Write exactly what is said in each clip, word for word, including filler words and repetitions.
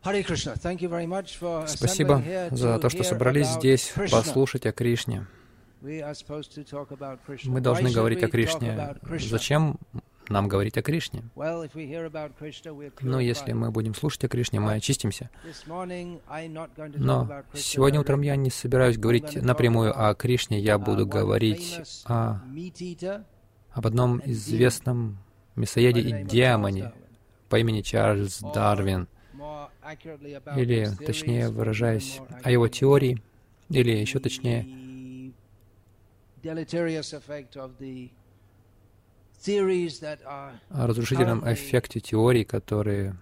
Спасибо за то, что собрались здесь послушать о Кришне. Мы должны говорить о Кришне. Зачем нам говорить о Кришне? Но если мы будем слушать о Кришне, мы очистимся. Но сегодня утром я не собираюсь говорить напрямую о Кришне, я буду говорить о, об одном известном мясоеде и демоне по имени Чарльз Дарвин, или, точнее выражаясь, о его теории, или еще точнее, о разрушительном эффекте теорий, которые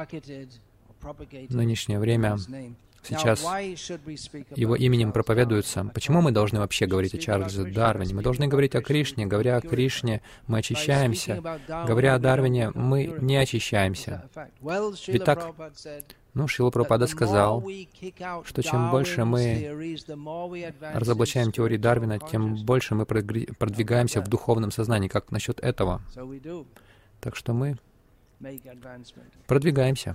в нынешнее время сейчас его именем проповедуются. Почему мы должны вообще говорить о Чарльзе Дарвине? Мы должны говорить о Кришне. Говоря о Кришне, мы очищаемся. Говоря о Дарвине, мы не очищаемся. Ведь так, ну, Шрила Прабхупада сказал, что чем больше мы разоблачаем теории Дарвина, тем больше мы продвигаемся в духовном сознании. Как насчет этого? Так что мы продвигаемся.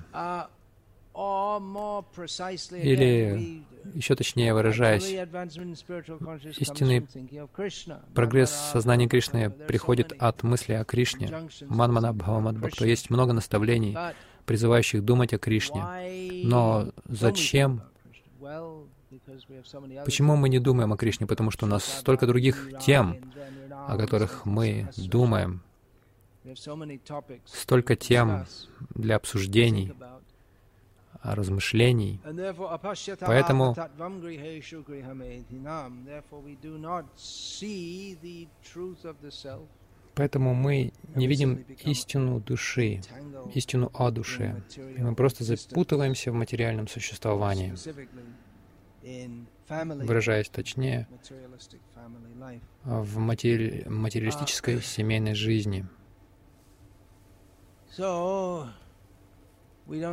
Или, еще точнее выражаясь, истинный прогресс сознания Кришны приходит от мысли о Кришне. Манмана Бхавамад Бхакто. Есть много наставлений, призывающих думать о Кришне. Но зачем? Почему мы не думаем о Кришне? Потому что у нас столько других тем, о которых мы думаем. Столько тем для обсуждений, размышлений. Поэтому Поэтому мы не видим истину души, истину о душе. И мы просто запутываемся в материальном существовании, выражаясь точнее, в матери... материалистической семейной жизни. Мы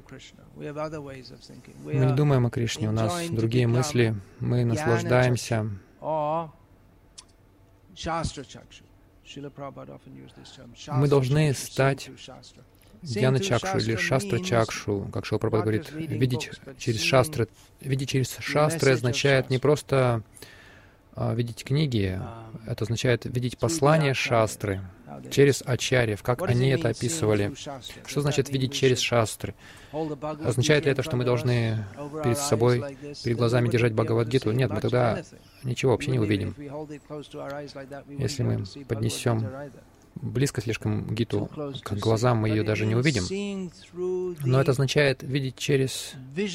не думаем о Кришне, у нас другие мысли, мы наслаждаемся. Мы должны стать Гьяна-чакшу или Шастра-чакшу, как Шрила Прабхупада говорит, видеть через шастры. Видеть через шастры означает не просто а, видеть книги, это означает видеть послание шастры через ачарьев, как они это описывали. Что значит видеть через шастры? Означает ли это, что мы должны перед собой, перед глазами держать Бхагавад-гиту? Нет, мы тогда ничего вообще не увидим. Если мы поднесем близко слишком гиту к глазам, мы ее даже не увидим. Но это означает видеть через,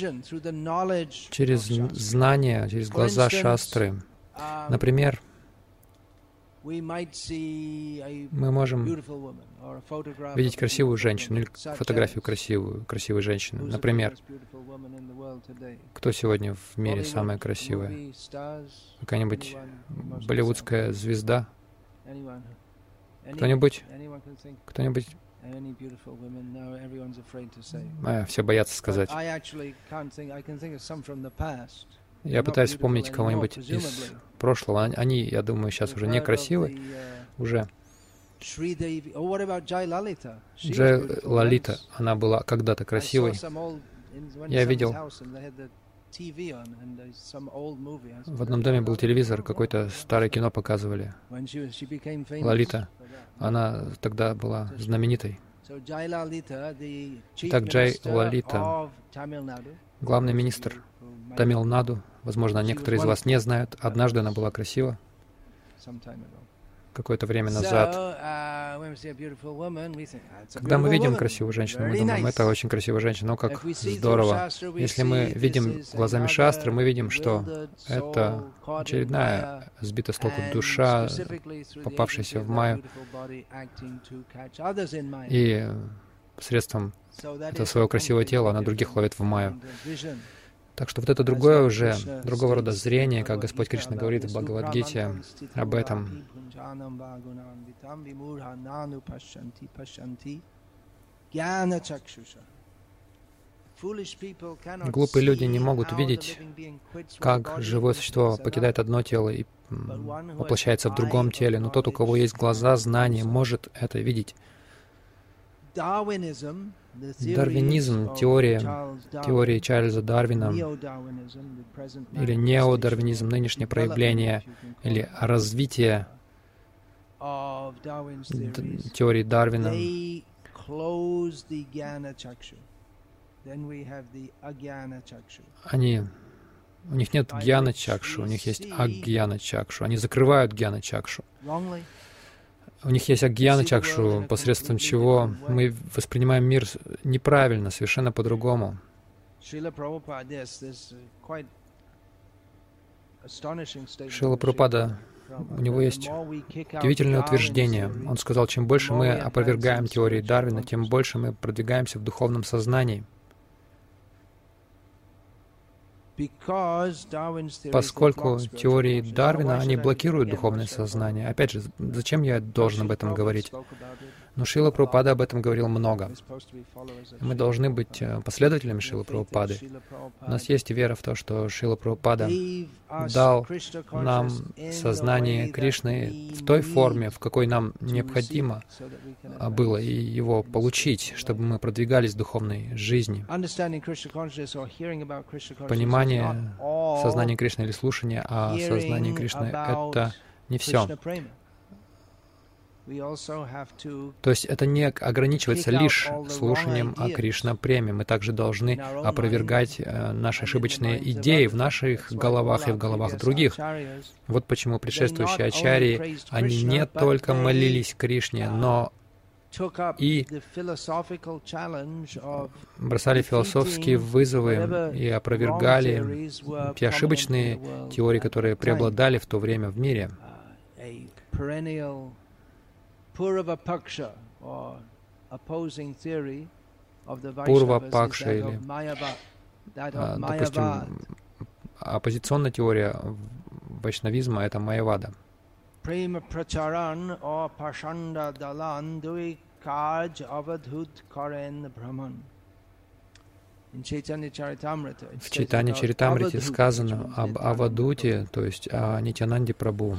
через знания, через глаза шастры. Например, мы можем видеть красивую женщину или фотографию красивую, красивой женщины. Например, кто сегодня в мире самая красивая? Какая-нибудь болливудская звезда? Кто-нибудь? Кто-нибудь? А, все боятся сказать. Я пытаюсь вспомнить кого-нибудь из прошлого. Они, я думаю, сейчас уже некрасивы. Уже. Джай Лалита, она была когда-то красивой. Я видел, в одном доме был телевизор, какое-то старое кино показывали. Лалита, она тогда была знаменитой. Итак, Джай Лалита, главный министр Тамил-Наду, возможно, некоторые из вас не знают, однажды она была красива, какое-то время назад. Когда мы видим красивую женщину, мы думаем, это очень красивая женщина, о, как здорово. Если мы видим глазами шастры, мы видим, что это очередная сбитая с толку душа, попавшаяся в майю, и посредством этого своего красивого тела она других ловит в майю. Так что вот это другое уже, другого рода зрение, как Господь Кришна говорит в Бхагавад-гите об этом. Глупые люди не могут видеть, как живое существо покидает одно тело и воплощается в другом теле, но тот, у кого есть глаза, знание, может это видеть. Дарвинизм, теория, теория Чарльза Дарвина, или неодарвинизм, нынешнее проявление, или развитие теории Дарвина, они, у них нет гьяна-чакши, у них есть агьяна-чакшу, они закрывают гьяна-чакшу. У них есть агьяна-чакшу, посредством чего мы воспринимаем мир неправильно, совершенно по-другому. Шрила Прабхупада, у него есть удивительное утверждение. Он сказал, чем больше мы опровергаем теории Дарвина, тем больше мы продвигаемся в духовном сознании. Поскольку теории Дарвина, они блокируют духовное сознание. Опять же, зачем я должен об этом говорить? Но Шрила Прабхупада об этом говорил много. Мы должны быть последователями Шрилы Прабхупады. У нас есть вера в то, что Шрила Прабхупада дал нам сознание Кришны в той форме, в какой нам необходимо было и его получить, чтобы мы продвигались в духовной жизни. Понимание сознания Кришны или слушание о сознании Кришны — это не все. То есть это не ограничивается лишь слушанием о Кришна-преме. Мы также должны опровергать наши ошибочные идеи в наших головах и в головах других. Вот почему предшествующие ачарьи, они не только молились Кришне, но и бросали философские вызовы и опровергали те ошибочные теории, которые преобладали в то время в мире. Пурва-пакша или, допустим, оппозиционная теория вайшнавизма — это майявада. В Чайтанья Чаритамрите сказано об Авадуте, то есть о Нитьянанде Прабху.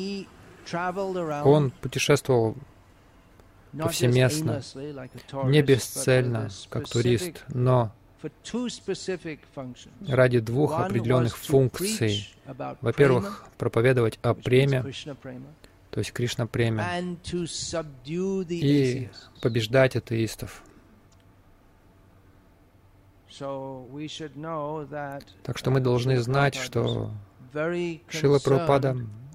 Он путешествовал повсеместно, не бесцельно, как турист, но ради двух определенных функций. Во-первых, проповедовать о преме, то есть Кришна-преме, и побеждать атеистов. Так что мы должны знать, что Шрила Прабхупада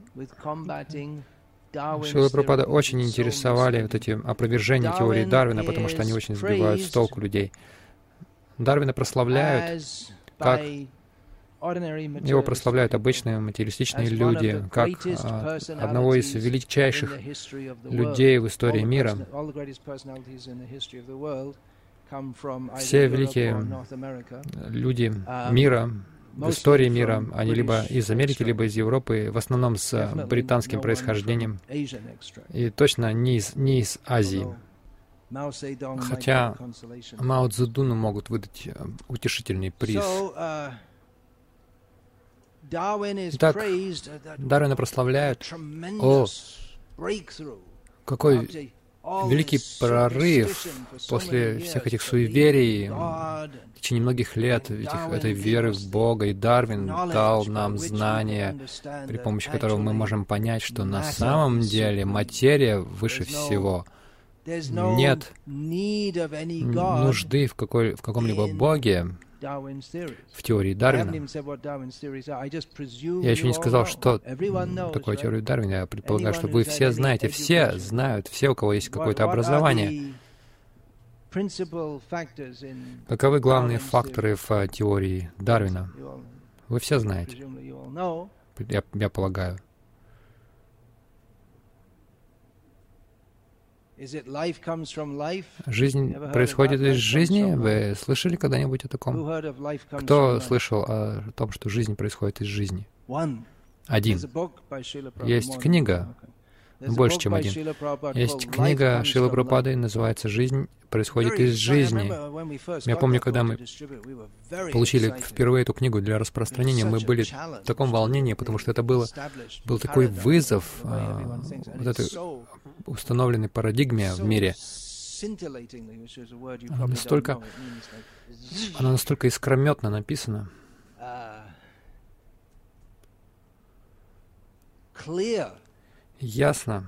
Шрила Прабхупада очень интересовали вот эти опровержения теории Дарвина, потому что они очень сбивают с толку людей. Дарвина прославляют, как его прославляют обычные материалистичные люди, как а, одного из величайших людей в истории мира. Все великие люди мира, в истории мира, они либо из Америки, либо из Европы, в основном с британским происхождением, и точно не из, не из Азии. Хотя Мао Цзэдуну могут выдать утешительный приз. Итак, Дарвина прославляют. О, какой великий прорыв после всех этих суеверий в течение многих лет этих, этой веры в Бога. И Дарвин дал нам знания, при помощи которого мы можем понять, что на самом деле материя выше всего. Нет нужды в, какой, в каком-либо Боге в теории Дарвина. Я еще не сказал, что такое теория Дарвина. Я предполагаю, что вы все знаете, все знают, все, у кого есть какое-то образование. Каковы главные факторы в теории Дарвина? Вы все знаете, я, я полагаю. Жизнь происходит из жизни. Вы слышали когда-нибудь о таком? Кто слышал о том, что жизнь происходит из жизни? Один. Есть книга, больше, чем один. Есть книга Шрилы Прабхупады, называется «Жизнь происходит из жизни». Я помню, когда мы получили впервые эту книгу для распространения, мы были в таком волнении, потому что это было, был такой вызов а, вот этой установленной парадигме в мире. Она настолько, она настолько искрометно написана, ясно,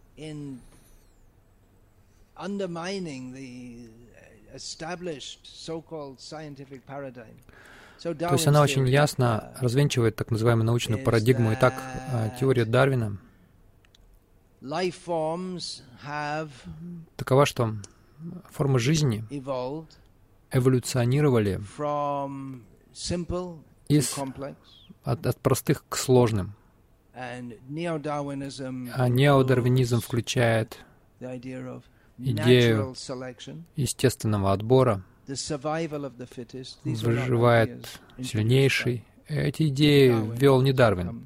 то есть она очень ясно развенчивает так называемую научную парадигму. Итак, теория Дарвина такова, что формы жизни эволюционировали из, от, от простых к сложным. А неодарвинизм включает идею естественного отбора, выживает сильнейший. Эти идеи ввел не Дарвин.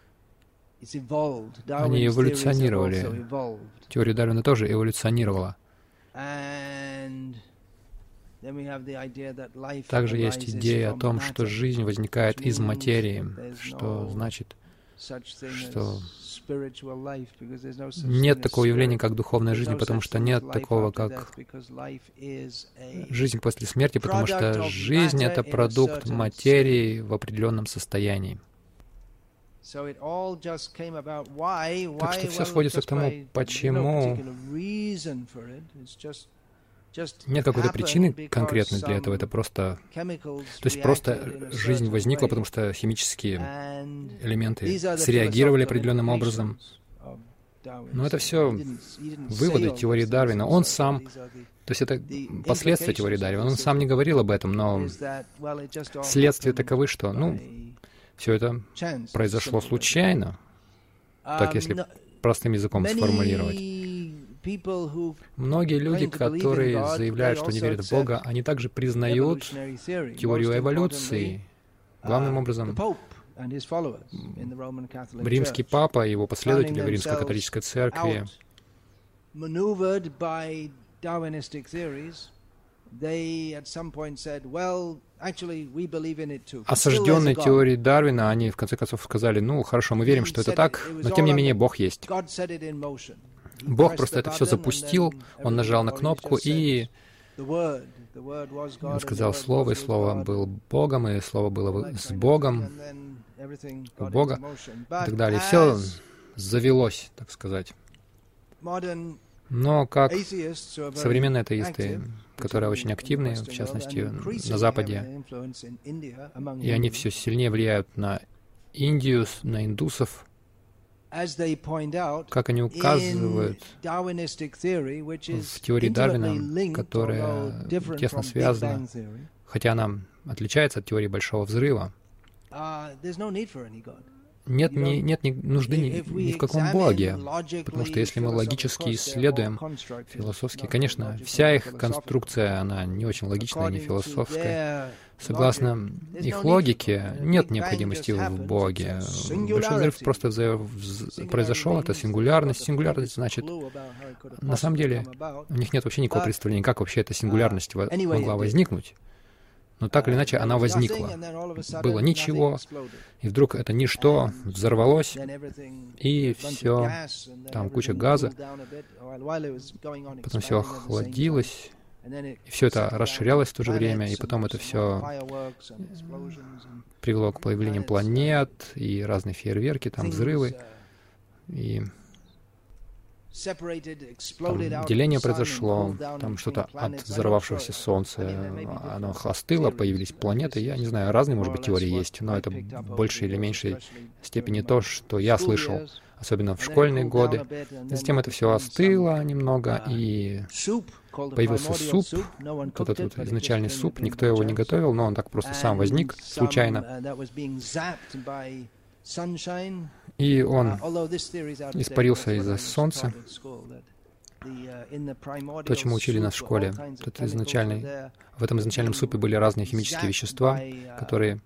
Они эволюционировали. Теория Дарвина тоже эволюционировала. Также есть идея о том, что жизнь возникает из материи, что значит, что нет такого явления, как духовная жизнь, потому что нет такого, как жизнь после смерти, потому что жизнь — это продукт материи в определенном состоянии. Так что все сводится к тому, почему нет какой-то причины конкретной для этого. Это просто... То есть просто жизнь возникла, потому что химические элементы среагировали определенным образом. Но это все выводы теории Дарвина. Он сам... То есть это последствия теории Дарвина. Он сам не говорил об этом, но следствия таковы, что, ну, все это произошло случайно, так если простым языком сформулировать. Многие люди, которые заявляют, что не верят в Бога, они также признают теорию эволюции. Главным образом, римский папа и его последователи в римско-католической церкви осажденные теорией Дарвина, они в конце концов сказали: ну, хорошо, мы верим, что это так, но тем не менее Бог есть. Бог просто это все запустил, Он нажал на кнопку, и Он сказал Слово, и Слово было Богом, и Слово было с Богом, у Бога, и так далее. И все завелось, так сказать. Но как современные атеисты, которые очень активны, в частности, на Западе, и они все сильнее влияют на Индию, на индусов, как они указывают в теории Дарвина, которая тесно связана, хотя она отличается от теории Большого Взрыва, нет, ни, нет ни нужды ни, ни в каком Боге, потому что если мы логически исследуем, философски, конечно, вся их конструкция, она не очень логичная, не философская. Согласно их логике, нет необходимости в Боге. Большой взрыв просто произошел, это сингулярность. Сингулярность значит, на самом деле, у них нет вообще никакого представления, как вообще эта сингулярность могла возникнуть. Но так или иначе она возникла. Было ничего, и вдруг это ничто взорвалось, и все, там куча газа, потом все охладилось, и все это расширялось в то же время, и потом это все привело к появлению планет, и разные фейерверки, там взрывы, и там деление произошло, там что-то от взорвавшегося Солнца, оно остыло, появились планеты. Я не знаю, разные, может быть, теории есть, но это в большей или меньшей степени то, что я слышал, особенно в школьные годы. Затем это все остыло немного, и появился суп, вот этот вот изначальный суп, никто его не готовил, но он так просто сам возник случайно. И он испарился из-за солнца. То, чему учили нас в школе, тот изначальный, в этом изначальном супе были разные химические вещества, которые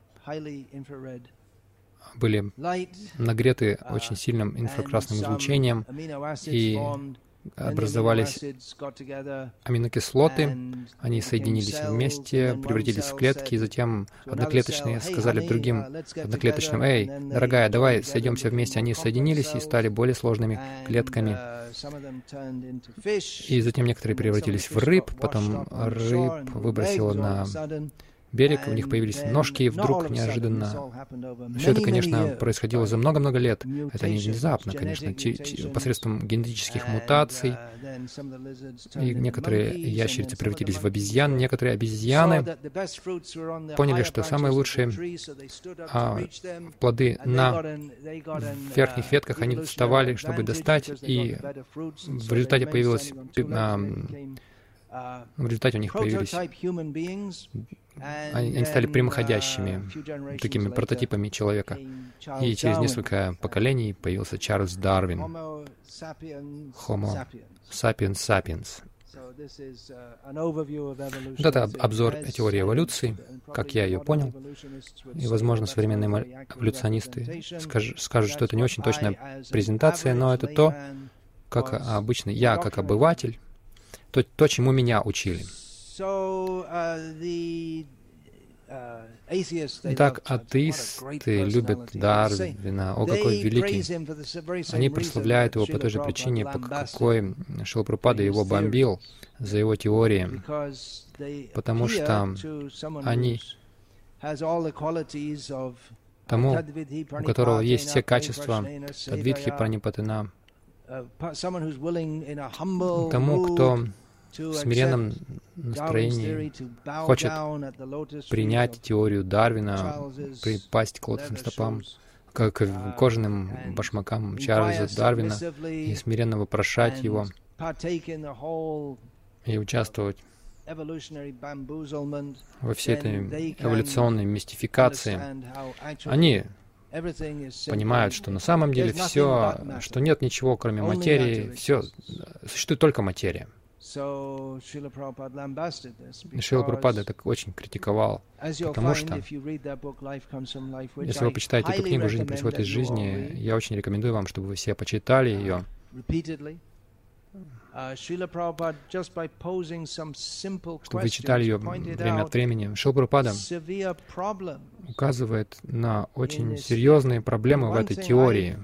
были нагреты очень сильным инфракрасным излучением, и образовались аминокислоты, они соединились вместе, превратились в клетки, и затем одноклеточные сказали другим одноклеточным: «Эй, дорогая, давай сойдемся вместе». Они соединились и стали более сложными клетками. И затем некоторые превратились в рыб, потом рыб выбросило на берег, у них появились ножки, и вдруг неожиданно... Все это, конечно, происходило за много-много лет. Это не внезапно, конечно, посредством генетических мутаций. И некоторые ящерицы превратились в обезьян, некоторые обезьяны поняли, что самые лучшие а, плоды на верхних ветках, они вставали, чтобы достать, и в результате появилось... А, в результате у них появились... Они, они стали прямоходящими, такими прототипами человека. И через несколько поколений появился Чарльз Дарвин. Homo sapiens sapiens. Вот это обзор теории эволюции, как я ее понял. И, возможно, современные эволюционисты скажут, скажут, что это не очень точная презентация, но это то, как обычно я, как обыватель, то, то чему меня учили. Итак, атеисты любят Дарвина. О, какой великий! Они прославляют его по той же причине, по какой Шрила Прабхупада его бомбил за его теории, потому что они тому, у которого есть все качества Тадвидхи Пранипатена, тому, кто в смиренном настроении хочет принять теорию Дарвина, припасть к лотосным стопам, к, к кожаным башмакам Чарльза Дарвина и смиренно вопрошать его и участвовать во всей этой эволюционной мистификации. Они понимают, что на самом деле все, что нет ничего, кроме материи, все, существует только материя. Шрила Прабхупада это очень критиковал, потому что, если вы почитаете эту книгу «Жизнь происходит из жизни», я очень рекомендую вам, чтобы вы все почитали ее. Чтобы вы читали ее время от времени. Шрила Прабхупада указывает на очень серьезные проблемы в этой теории.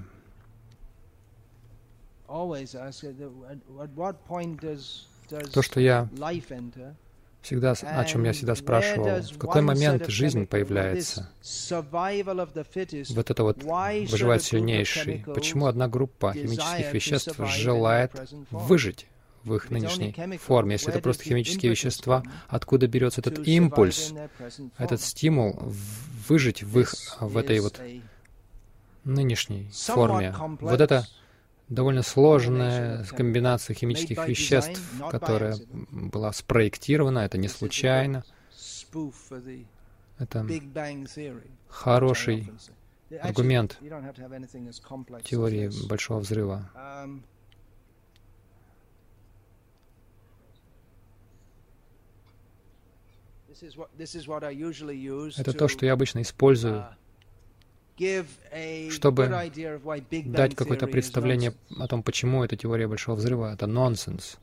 То, что я всегда, о чем я всегда спрашивал, в какой момент жизнь появляется? Вот это вот выживает сильнейший. Почему одна группа химических веществ желает выжить в их нынешней форме? Если это просто химические вещества, откуда берется этот импульс, этот стимул выжить в их, в этой вот нынешней форме? Вот это довольно сложная комбинация химических веществ, которая была спроектирована, это не случайно. Это хороший аргумент теории Большого Взрыва. Это то, что я обычно использую, чтобы дать какое-то представление о том, почему эта теория Большого Взрыва — это нонсенс.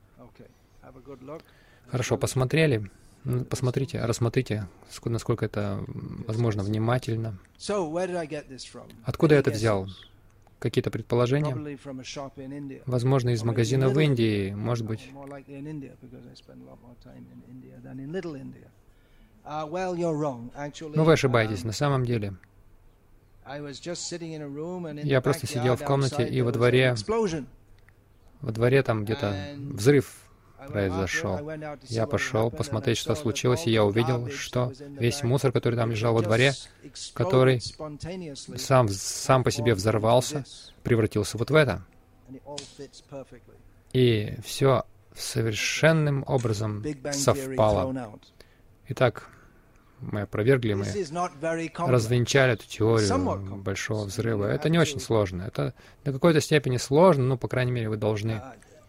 Хорошо, посмотрели? Посмотрите, рассмотрите, насколько это возможно внимательно. Откуда я это взял? Какие-то предположения? Возможно, из магазина в Индии, может быть. Но вы ошибаетесь, на самом деле. Я просто сидел в комнате, и во дворе, во дворе там где-то взрыв произошел. Я пошел посмотреть, что случилось, и я увидел, что весь мусор, который там лежал во дворе, который сам, сам по себе взорвался, превратился вот в это. И все совершенным образом совпало. Итак, мы опровергли, мы развенчали эту теорию Большого Взрыва. Это не очень сложно. Это до какой-то степени сложно, но, по крайней мере, вы должны...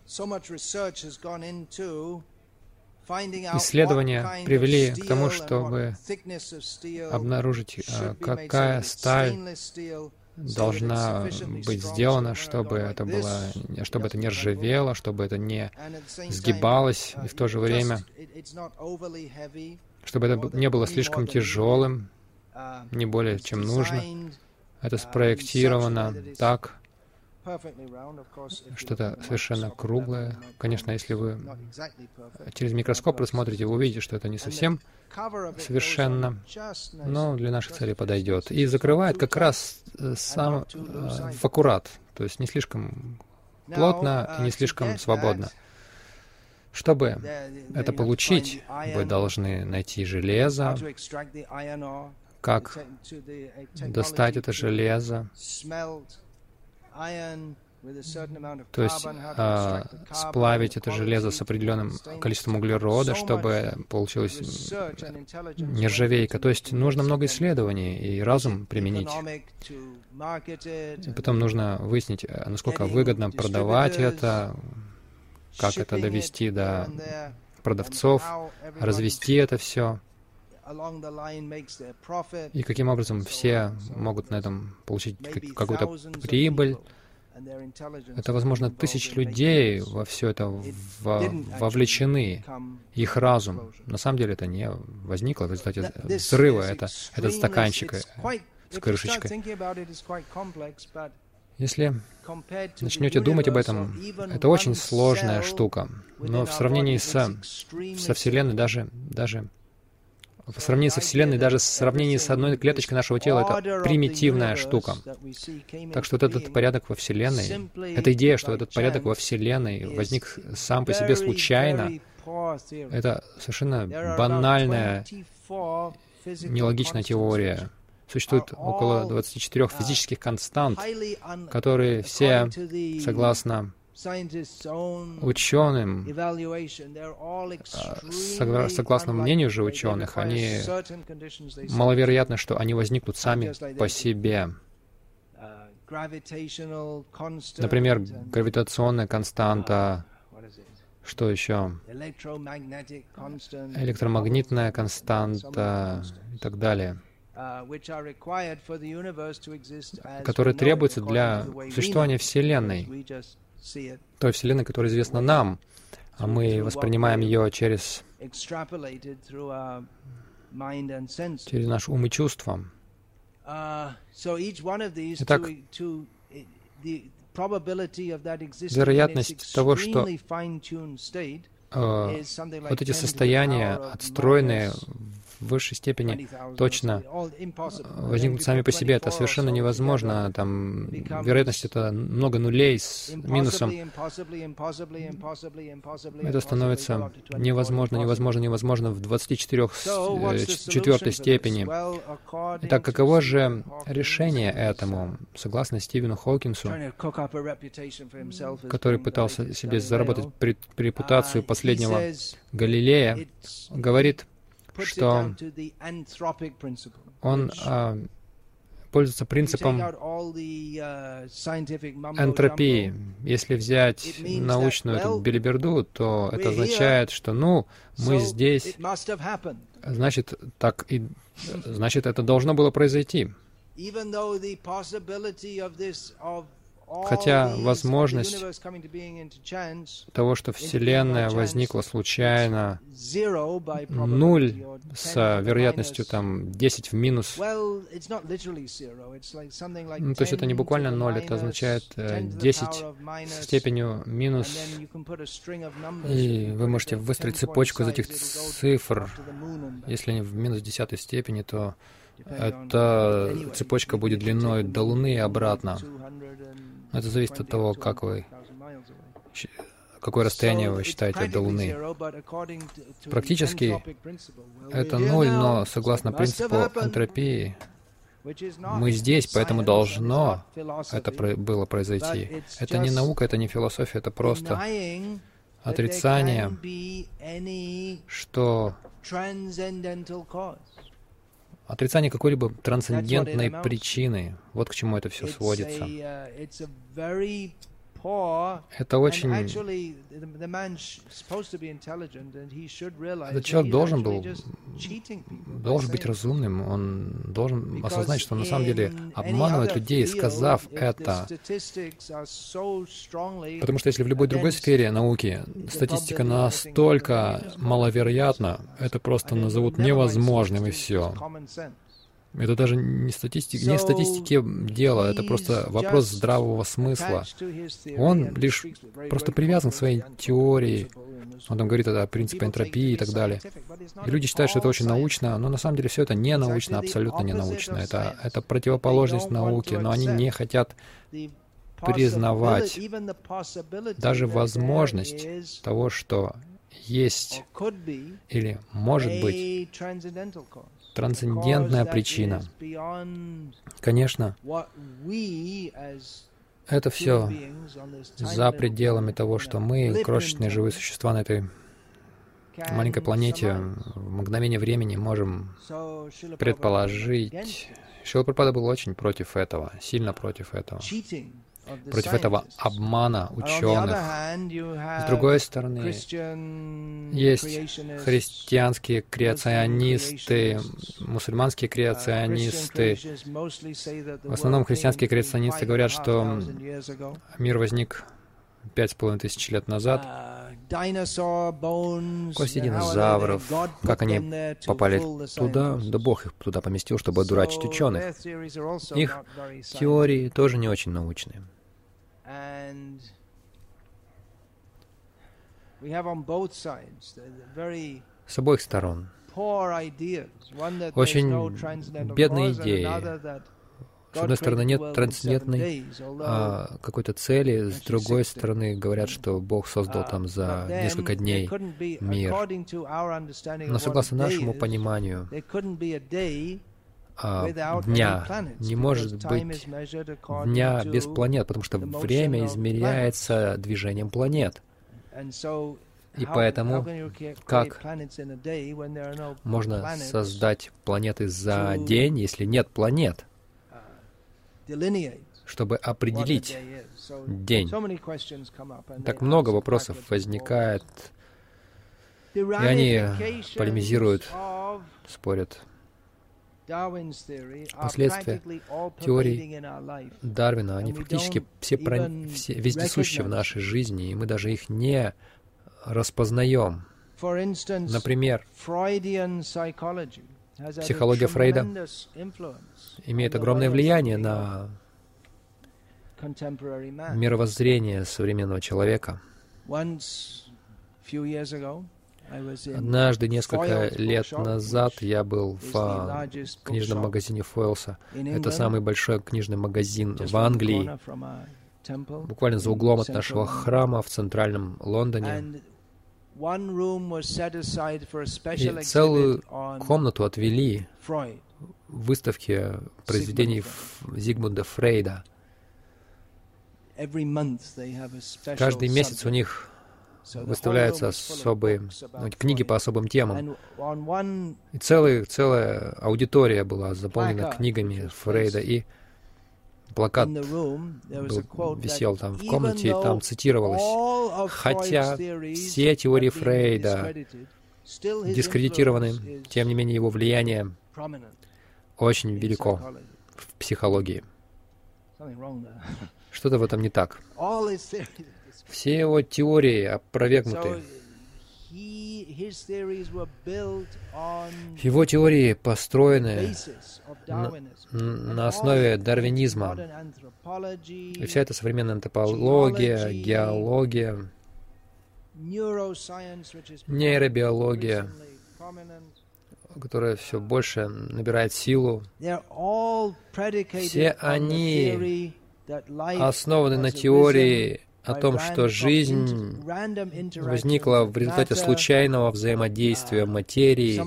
Исследования привели к тому, чтобы обнаружить, какая сталь должна быть сделана, чтобы это было, чтобы это не ржавело, чтобы это не сгибалось, и в то же время, чтобы это не было слишком тяжелым, не более чем нужно. Это спроектировано так, что-то совершенно круглое. Конечно, если вы через микроскоп рассмотрите, вы увидите, что это не совсем совершенно, но для наших целей подойдет. И закрывает как раз сам э, в аккурат, то есть не слишком плотно и не слишком свободно. Чтобы это получить, вы должны найти железо, как достать это железо, то есть а, сплавить это железо с определенным количеством углерода, чтобы получилась нержавейка. То есть нужно много исследований и разум применить. И потом нужно выяснить, насколько выгодно продавать это, как это довести до продавцов, развести это все. И каким образом все могут на этом получить какую-то прибыль. Это, возможно, тысячи людей во все это вовлечены, их разум. На самом деле это не возникло в результате взрыва, это, этот стаканчик с крышечкой. Если начнете думать об этом, это очень сложная штука. Но в сравнении со, со Вселенной, даже, даже в сравнении со Вселенной, даже в сравнении с одной клеточкой нашего тела, это примитивная штука. Так что вот этот порядок во Вселенной, эта идея, что этот порядок во Вселенной возник сам по себе случайно, это совершенно банальная, нелогичная теория. Существует около двадцати четырёх физических констант, которые все, согласно ученым, согласно мнению же ученых, они маловероятно, что они возникнут сами по себе. Например, гравитационная константа, что еще? Электромагнитная константа и так далее, которые требуются для существования Вселенной, той Вселенной, которая известна нам, а мы воспринимаем ее через, через наш ум и чувства. Итак, вероятность того, что э, вот эти состояния, отстроенные в высшей степени точно возникнут сами по себе. Это совершенно невозможно. Там вероятность — это много нулей с минусом. Это становится невозможно, невозможно, невозможно в двадцати четвёртой степени. Итак, каково же решение этому? Согласно Стивену Хокинсу, который пытался себе заработать репутацию последнего Галилея, говорит, что он а, пользуется принципом энтропии. Если взять научную эту белиберду, то это означает, что, ну, мы здесь, значит, так и, значит, это должно было произойти. Хотя возможность того, что Вселенная возникла случайно, нуль с вероятностью там десять в минус. Ну, то есть это не буквально ноль, это означает десять с степенью минус. И вы можете выстроить цепочку из этих цифр. Если они в минус десятой степени, то эта цепочка будет длиной до Луны и обратно. Это зависит от того, как вы, какое расстояние вы считаете до Луны. Практически это ноль, но согласно принципу энтропии, мы здесь, поэтому должно это было произойти. Это не наука, это не философия, это просто отрицание, что отрицание какой-либо трансцендентной причины. Вот к чему это все сводится. Это очень... Этот человек должен был, должен быть разумным, он должен осознать, что он на самом деле обманывает людей, сказав это. Потому что если в любой другой сфере науки статистика настолько маловероятна, это просто назовут невозможным и все. Это даже не статистика, не в статистике дело, это просто вопрос здравого смысла. Он лишь просто привязан к своей теории. Он там говорит о принципе энтропии и так далее. И люди считают, что это очень научно, но на самом деле все это не научно, абсолютно не научно. Это, это противоположность науки, но они не хотят признавать даже возможность того, что есть или может быть трансцендентная причина. Конечно, это все за пределами того, что мы, крошечные живые существа на этой маленькой планете, в мгновение времени можем предположить. Шрила Прабхупада был очень против этого, сильно против этого. Против этого обмана ученых. С другой стороны, есть христианские креационисты, мусульманские креационисты. В основном христианские креационисты говорят, что мир возник пять с половиной тысяч лет назад. Кости динозавров, как они попали туда, да Бог их туда поместил, чтобы одурачить ученых. Их теории тоже не очень научные. С обоих сторон очень бедные идеи. С одной стороны, нет трансцендентной а, какой-то цели, с другой стороны, говорят, что Бог создал там за несколько дней мир. Но согласно нашему пониманию, а, дня не может быть дня без планет, потому что время измеряется движением планет. И поэтому, как можно создать планеты за день, если нет планет? Чтобы определить день. Так много вопросов возникает, и они полемизируют, спорят. Последствия теорий Дарвина, они фактически все, про... все вездесущи в нашей жизни, и мы даже их не распознаем. Например, психология Фрейда имеет огромное влияние на мировоззрение современного человека. Однажды, несколько лет назад, я был в книжном магазине Фойлса. Это самый большой книжный магазин в Англии, буквально за углом от нашего храма в центральном Лондоне. И целую комнату отвели выставки произведений Зигмунда Фрейда. Каждый месяц у них выставляются особые ну, книги по особым темам. И целый, целая аудитория была заполнена книгами Фрейда, и плакат был, висел там в комнате, и там цитировалось: хотя все теории Фрейда дискредитированы, тем не менее его влияние очень велико в психологии. Что-то в этом не так. Все его теории опровергнуты. Его теории построены на, на основе дарвинизма. И вся эта современная антропология, геология, нейробиология, которая все больше набирает силу, все они основаны на теории о том, что жизнь возникла в результате случайного взаимодействия материи.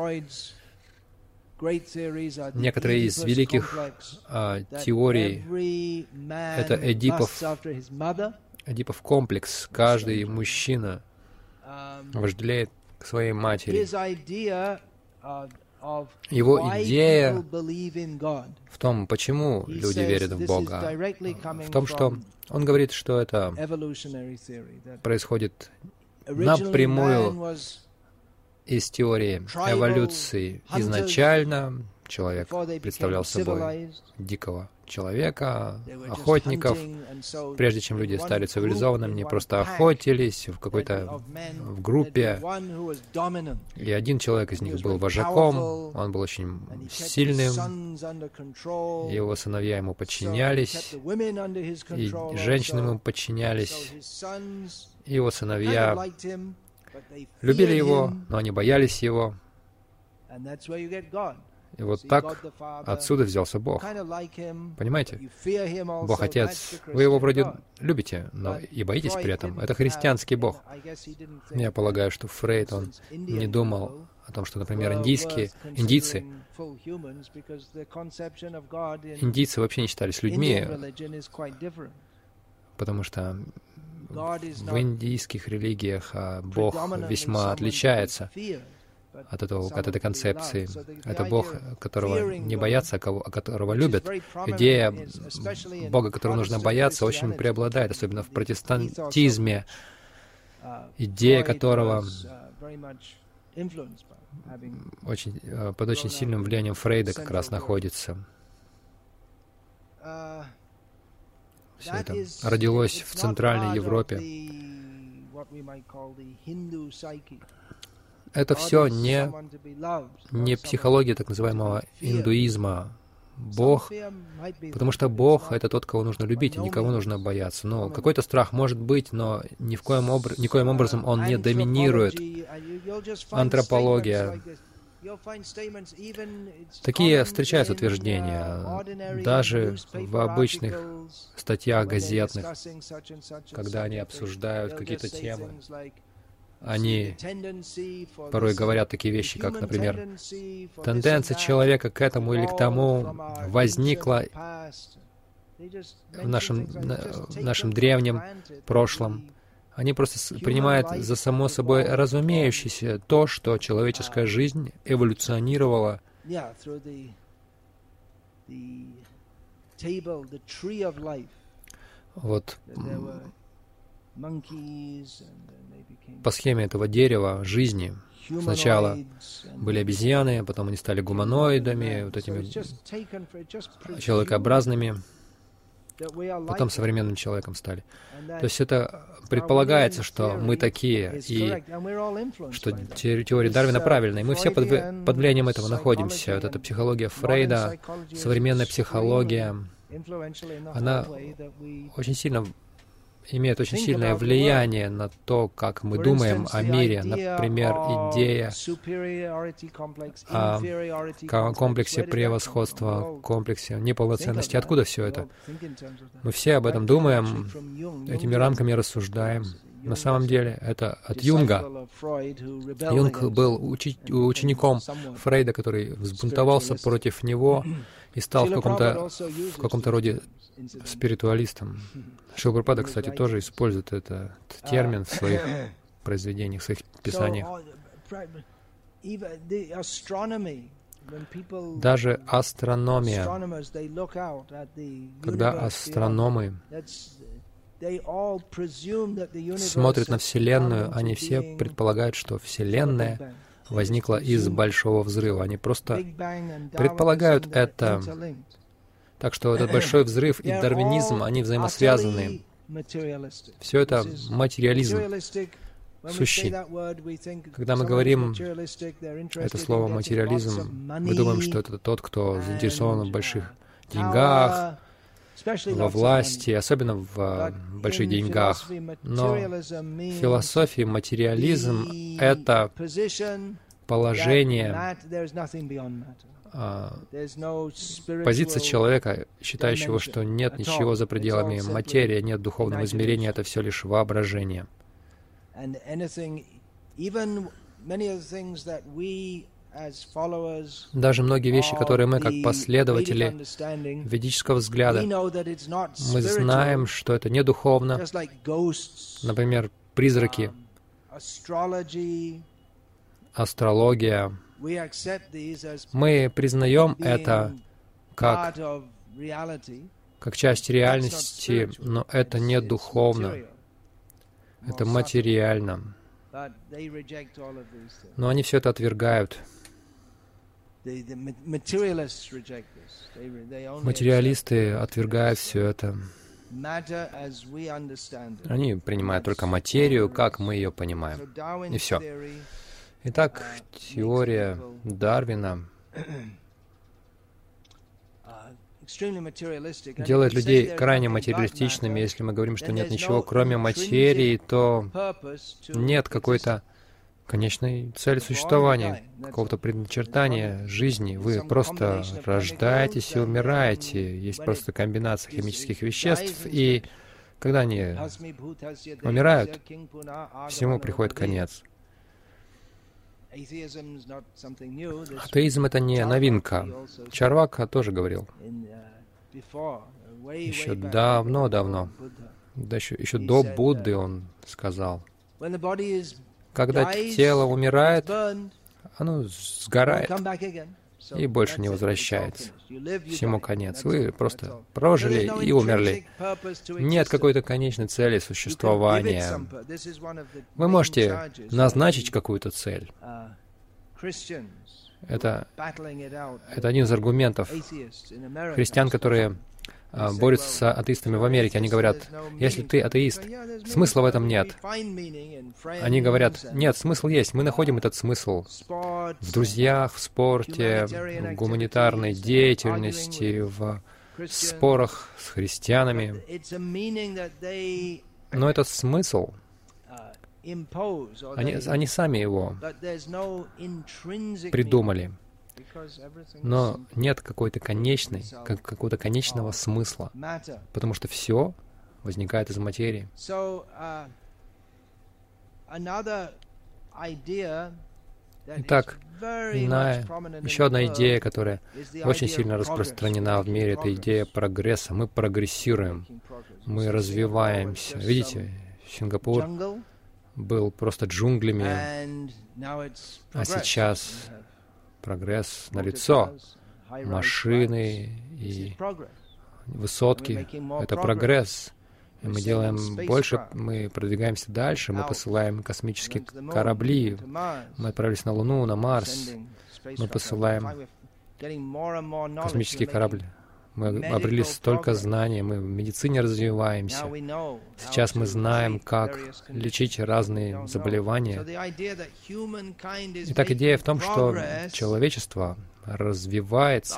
Некоторые из великих а, теорий — это Эдипов, Эдипов комплекс. Каждый мужчина вожделеет к своей матери. Его идея в том, почему люди верят в Бога, в том, что он говорит, что это происходит напрямую из теории эволюции. Изначально человек представлял собой дикого человека, охотников. Прежде чем люди стали цивилизованными, они просто охотились в какой-то в группе. И один человек из них был вожаком, он был очень сильным, его сыновья ему подчинялись, и женщины ему подчинялись. И его сыновья любили его, но они боялись его. И вот так отсюда взялся Бог. Понимаете? Бог Отец. Вы его вроде любите, но и боитесь при этом. Это христианский Бог. Я полагаю, что Фрейд, он не думал о том, что, например, индийские, индийцы, индийцы вообще не считались людьми, потому что в индийских религиях Бог весьма отличается от, этого, от этой концепции. Это Бог, которого не боятся, а, кого, а которого любят. Идея Бога, которого нужно бояться, очень преобладает, особенно в протестантизме. Идея которого очень, под очень сильным влиянием Фрейда как раз находится. Все это родилось в Центральной Европе. Это все не, не психология так называемого индуизма. Бог, потому что Бог — это тот, кого нужно любить, и никого нужно бояться. Ну, какой-то страх может быть, но ни в коем, обр... никоим образом он не доминирует. Антропология. Такие встречаются утверждения, даже в обычных статьях газетных, когда они обсуждают какие-то темы. Они порой говорят такие вещи, как, например, тенденция человека к этому или к тому возникла в нашем, в нашем древнем прошлом. Они просто принимают за само собой разумеющееся то, что человеческая жизнь эволюционировала вот по схеме этого дерева жизни. Сначала были обезьяны, потом они стали гуманоидами, вот этими человекообразными, потом современным человеком стали. То есть это предполагается, что мы такие, и что теория Дарвина правильная, и мы все под, под влиянием этого находимся. Вот эта психология Фрейда, современная психология, она очень сильно имеет очень сильное влияние на то, как мы думаем о мире. Например, идея о комплексе превосходства, комплексе неполноценности. Откуда все это? Мы все об этом думаем, этими рамками рассуждаем. На самом деле, это от Юнга. Юнг был учи- учеником Фрейда, который взбунтовался против него и стал в каком-то, в каком-то роде спиритуалистом. Шрила Прабхупада, кстати, тоже использует этот термин в своих произведениях, в своих писаниях. Даже астрономия, когда астрономы смотрят на Вселенную, они все предполагают, что Вселенная возникла из Большого Взрыва. Они просто предполагают это. Так что этот Большой Взрыв и дарвинизм, они взаимосвязаны. Все это материализм сущий. Когда мы говорим это слово «материализм», мы думаем, что это тот, кто заинтересован в больших деньгах, во власти, особенно в больших деньгах. Но в философии материализм — это положение, позиция человека, считающего, что нет ничего за пределами материи, нет духовного измерения, это все лишь воображение. Даже многие вещи, которые мы, как последователи ведического взгляда, мы знаем, что это не духовно. Например, призраки, астрология. Мы признаем это как, как часть реальности, но это не духовно, это материально. Но они все это отвергают. Материалисты отвергают все это. Они принимают только материю, как мы ее понимаем. И все. Итак, теория Дарвина делает людей крайне материалистичными. Если мы говорим, что нет ничего, кроме материи, то нет какой-то конечной цели существования, какого-то предначертания жизни. Вы просто рождаетесь и умираете. Есть просто комбинация химических веществ, и когда они умирают, всему приходит конец. Атеизм — это не новинка. Чарвака тоже говорил. Еще давно-давно, да еще, еще до Будды он сказал. Когда тело умирает, оно сгорает и больше не возвращается. Всему конец. Вы просто прожили и умерли. Нет какой-то конечной цели существования. Вы можете назначить какую-то цель. Это, это один из аргументов христиан, которые а, борются с атеистами в Америке. Они говорят, если ты атеист, смысла в этом нет. Они говорят, нет, смысл есть. Мы находим этот смысл в друзьях, в спорте, в гуманитарной деятельности, в спорах с христианами. Но этот смысл, они, они сами его придумали. Но нет какой-то конечной, как, какого-то конечного смысла, потому что все возникает из материи. Итак, иная, еще одна идея, которая очень сильно распространена в мире, это идея прогресса. Мы прогрессируем, мы развиваемся. Видите, Сингапур был просто джунглями, а сейчас прогресс налицо. Машины и высотки — это прогресс. И мы делаем больше, мы продвигаемся дальше, мы посылаем космические корабли, мы отправились на Луну, на Марс, мы посылаем космические корабли. Мы обрели столько знаний, мы в медицине развиваемся. Сейчас мы знаем, как лечить разные заболевания. Итак, идея в том, что человечество развивается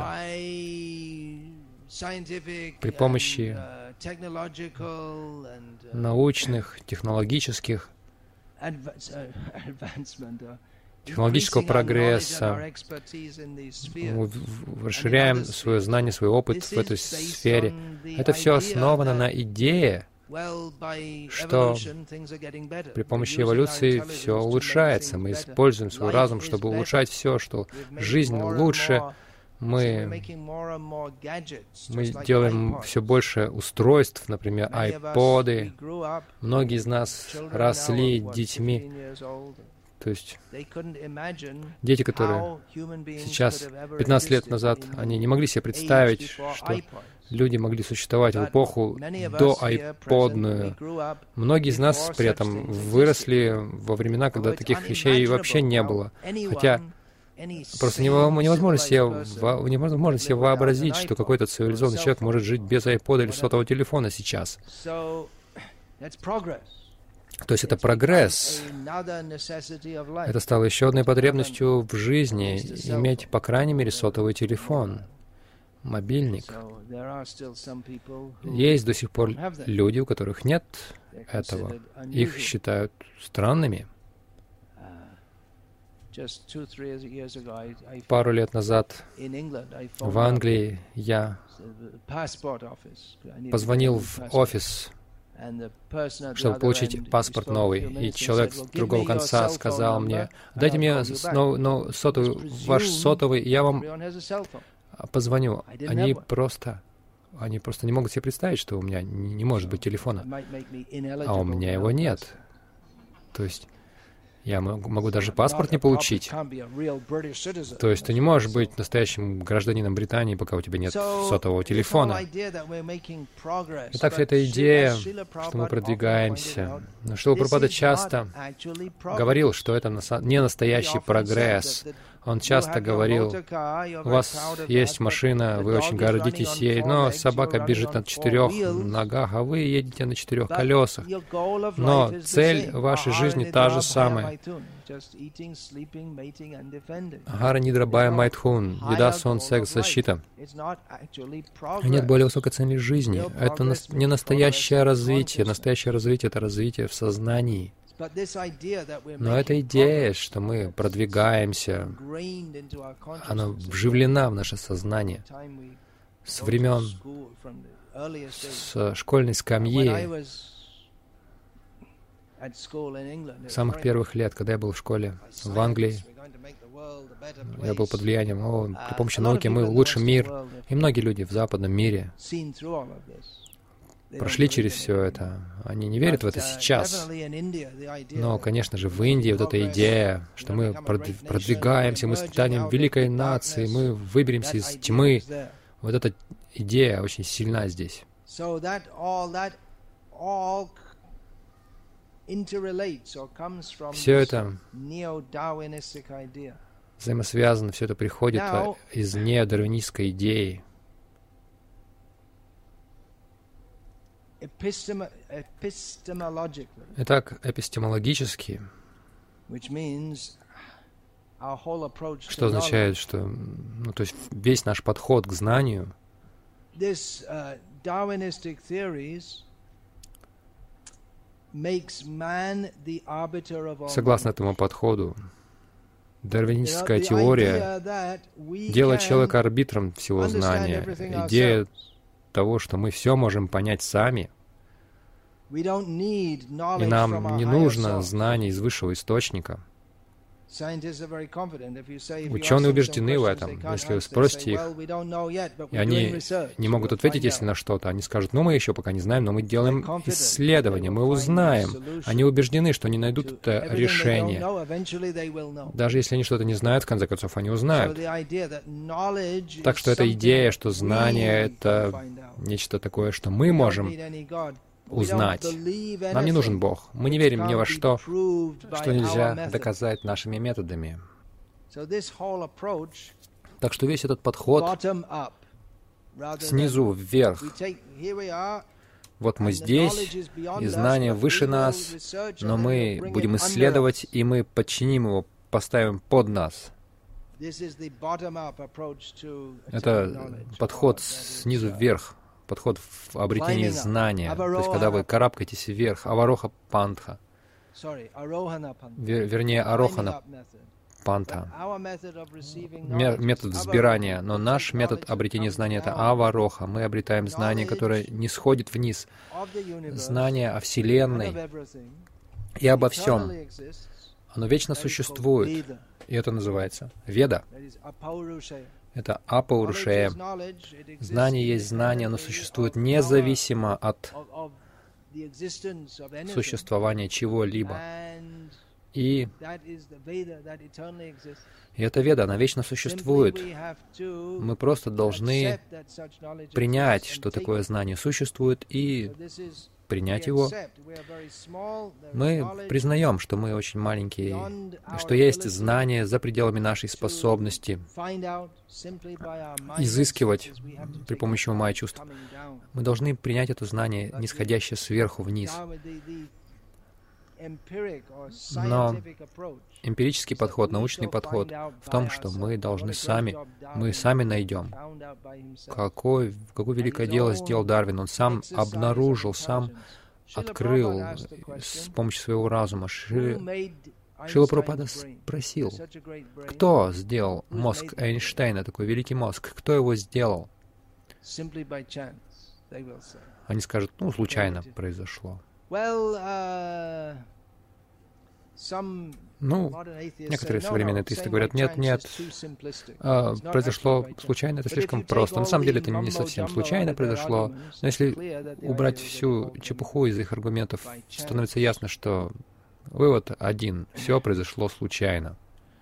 при помощи научных, технологических, технологического прогресса. Мы расширяем свое знание, свой опыт в этой сфере. Это все основано на идее, что при помощи эволюции все улучшается. Мы используем свой разум, чтобы улучшать все, что жизнь лучше. Мы, мы делаем все больше устройств, например, айподы. Многие из нас росли детьми. То есть дети, которые сейчас, пятнадцать лет назад, они не могли себе представить, что люди могли существовать в эпоху до айподную. Многие из нас при этом выросли во времена, когда таких вещей вообще не было. Хотя просто невозможно себе, невозможно себе вообразить, что какой-то цивилизованный человек может жить без айпода или сотового телефона сейчас. То есть это прогресс. Это стало еще одной потребностью в жизни — иметь, по крайней мере, сотовый телефон, мобильник. Есть до сих пор люди, у которых нет этого. Их считают странными. Пару лет назад в Англии я позвонил в офис, чтобы получить паспорт новый. И человек с другого конца сказал мне, дайте мне снова, ну, сотовый, ваш сотовый, и я вам позвоню. Они просто, они просто не могут себе представить, что у меня не может быть телефона. А у меня его нет. То есть Я могу даже паспорт не получить. То есть ты не можешь быть настоящим гражданином Британии, пока у тебя нет сотового телефона. Итак, вся эта идея, что мы продвигаемся. Но Шрила Прабхупада часто говорил, что это не настоящий прогресс. Он часто говорил: у вас есть машина, вы очень гордитесь ей, но собака бежит на четырех ногах, а вы едете на четырех колесах. Но цель вашей жизни та же самая. Агара, нидра, бая, майтхун. Еда, сон, секс, защита. Нет более высокой цели жизни. Это не настоящее развитие. Настоящее развитие — это развитие в сознании. Но эта идея, что мы продвигаемся, она вживлена в наше сознание с времен, с школьной скамьи, с самых первых лет, когда я был в школе в Англии. Я был под влиянием, о, при помощи науки мы улучшим мир. И многие люди в западном мире прошли через все это. Они не верят в это сейчас. Но, конечно же, в Индии вот эта идея, что мы продвигаемся, мы станем великой нацией, мы выберемся из тьмы. Вот эта идея очень сильна здесь. Все это взаимосвязано, все это приходит из неодарвинистской идеи. Итак, эпистемологически, что означает, что, ну, то есть весь наш подход к знанию, согласно этому подходу, дарвинистская теория делает человека арбитром всего знания. Идея того, что мы все можем понять сами, и нам не нужно знаний из высшего источника. Ученые убеждены в этом. Если вы спросите их, и они не могут ответить, если на что-то, они скажут: ну, мы еще пока не знаем, но мы делаем исследования, мы узнаем. Они убеждены, что они найдут это решение. Даже если они что-то не знают, в конце концов, они узнают. Так что эта идея, что знание — это нечто такое, что мы можем узнать. Нам не нужен Бог. Мы не верим ни во что, что нельзя доказать нашими методами. Так что весь этот подход снизу вверх. Вот мы здесь, и знание выше нас, но мы будем исследовать, и мы подчиним его, поставим под нас. Это подход снизу вверх. Подход в обретении знания, то есть когда вы карабкаетесь вверх, авароха пантха, Вер, вернее, арохана пантха, метод взбирания, но наш метод обретения знания — это авароха. Мы обретаем знание, которое не сходит вниз, знание о Вселенной и обо всем. Оно вечно существует, и это называется Веда. Это апаурушея. Знание есть знание, оно существует независимо от существования чего-либо. И, и эта Веда, она вечно существует. Мы просто должны принять, что такое знание существует, и принять его. Мы признаем, что мы очень маленькие, и что есть знание за пределами нашей способности изыскивать при помощи ума и чувств. Мы должны принять это знание, нисходящее сверху вниз. Но эмпирический подход, научный подход в том, что мы должны сами, мы сами найдем, какое, какое великое дело сделал Дарвин. Он сам обнаружил, сам открыл с помощью своего разума. Шри... Шрила Прабхупада спросил, кто сделал мозг Эйнштейна, такой великий мозг, кто его сделал? Они скажут: ну, случайно произошло. Ну, некоторые современные атеисты говорят: нет, нет, а, произошло случайно, это слишком просто. На самом деле это не совсем случайно произошло, но если убрать всю чепуху из их аргументов, становится ясно, что Вывод один. Все произошло случайно.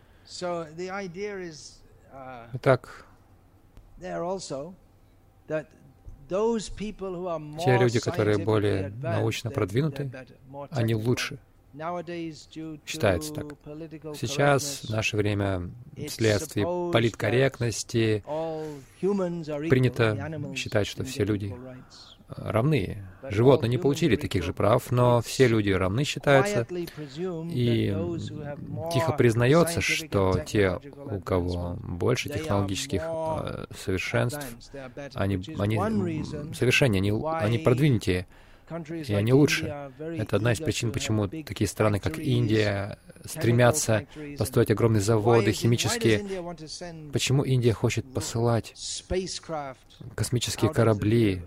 Итак, те люди, которые более научно продвинуты, они лучше. Считается так. Сейчас, в наше время, вследствие политкорректности, принято считать, что все люди равны. Животные не получили таких же прав, но все люди равны считаются, и тихо признается, что те, у кого больше технологических э, совершенств, они, они совершеннее, они, они продвинутее, и они лучше. Это одна из причин, почему такие страны, как Индия, стремятся построить огромные заводы, химические. Почему Индия хочет посылать космические корабли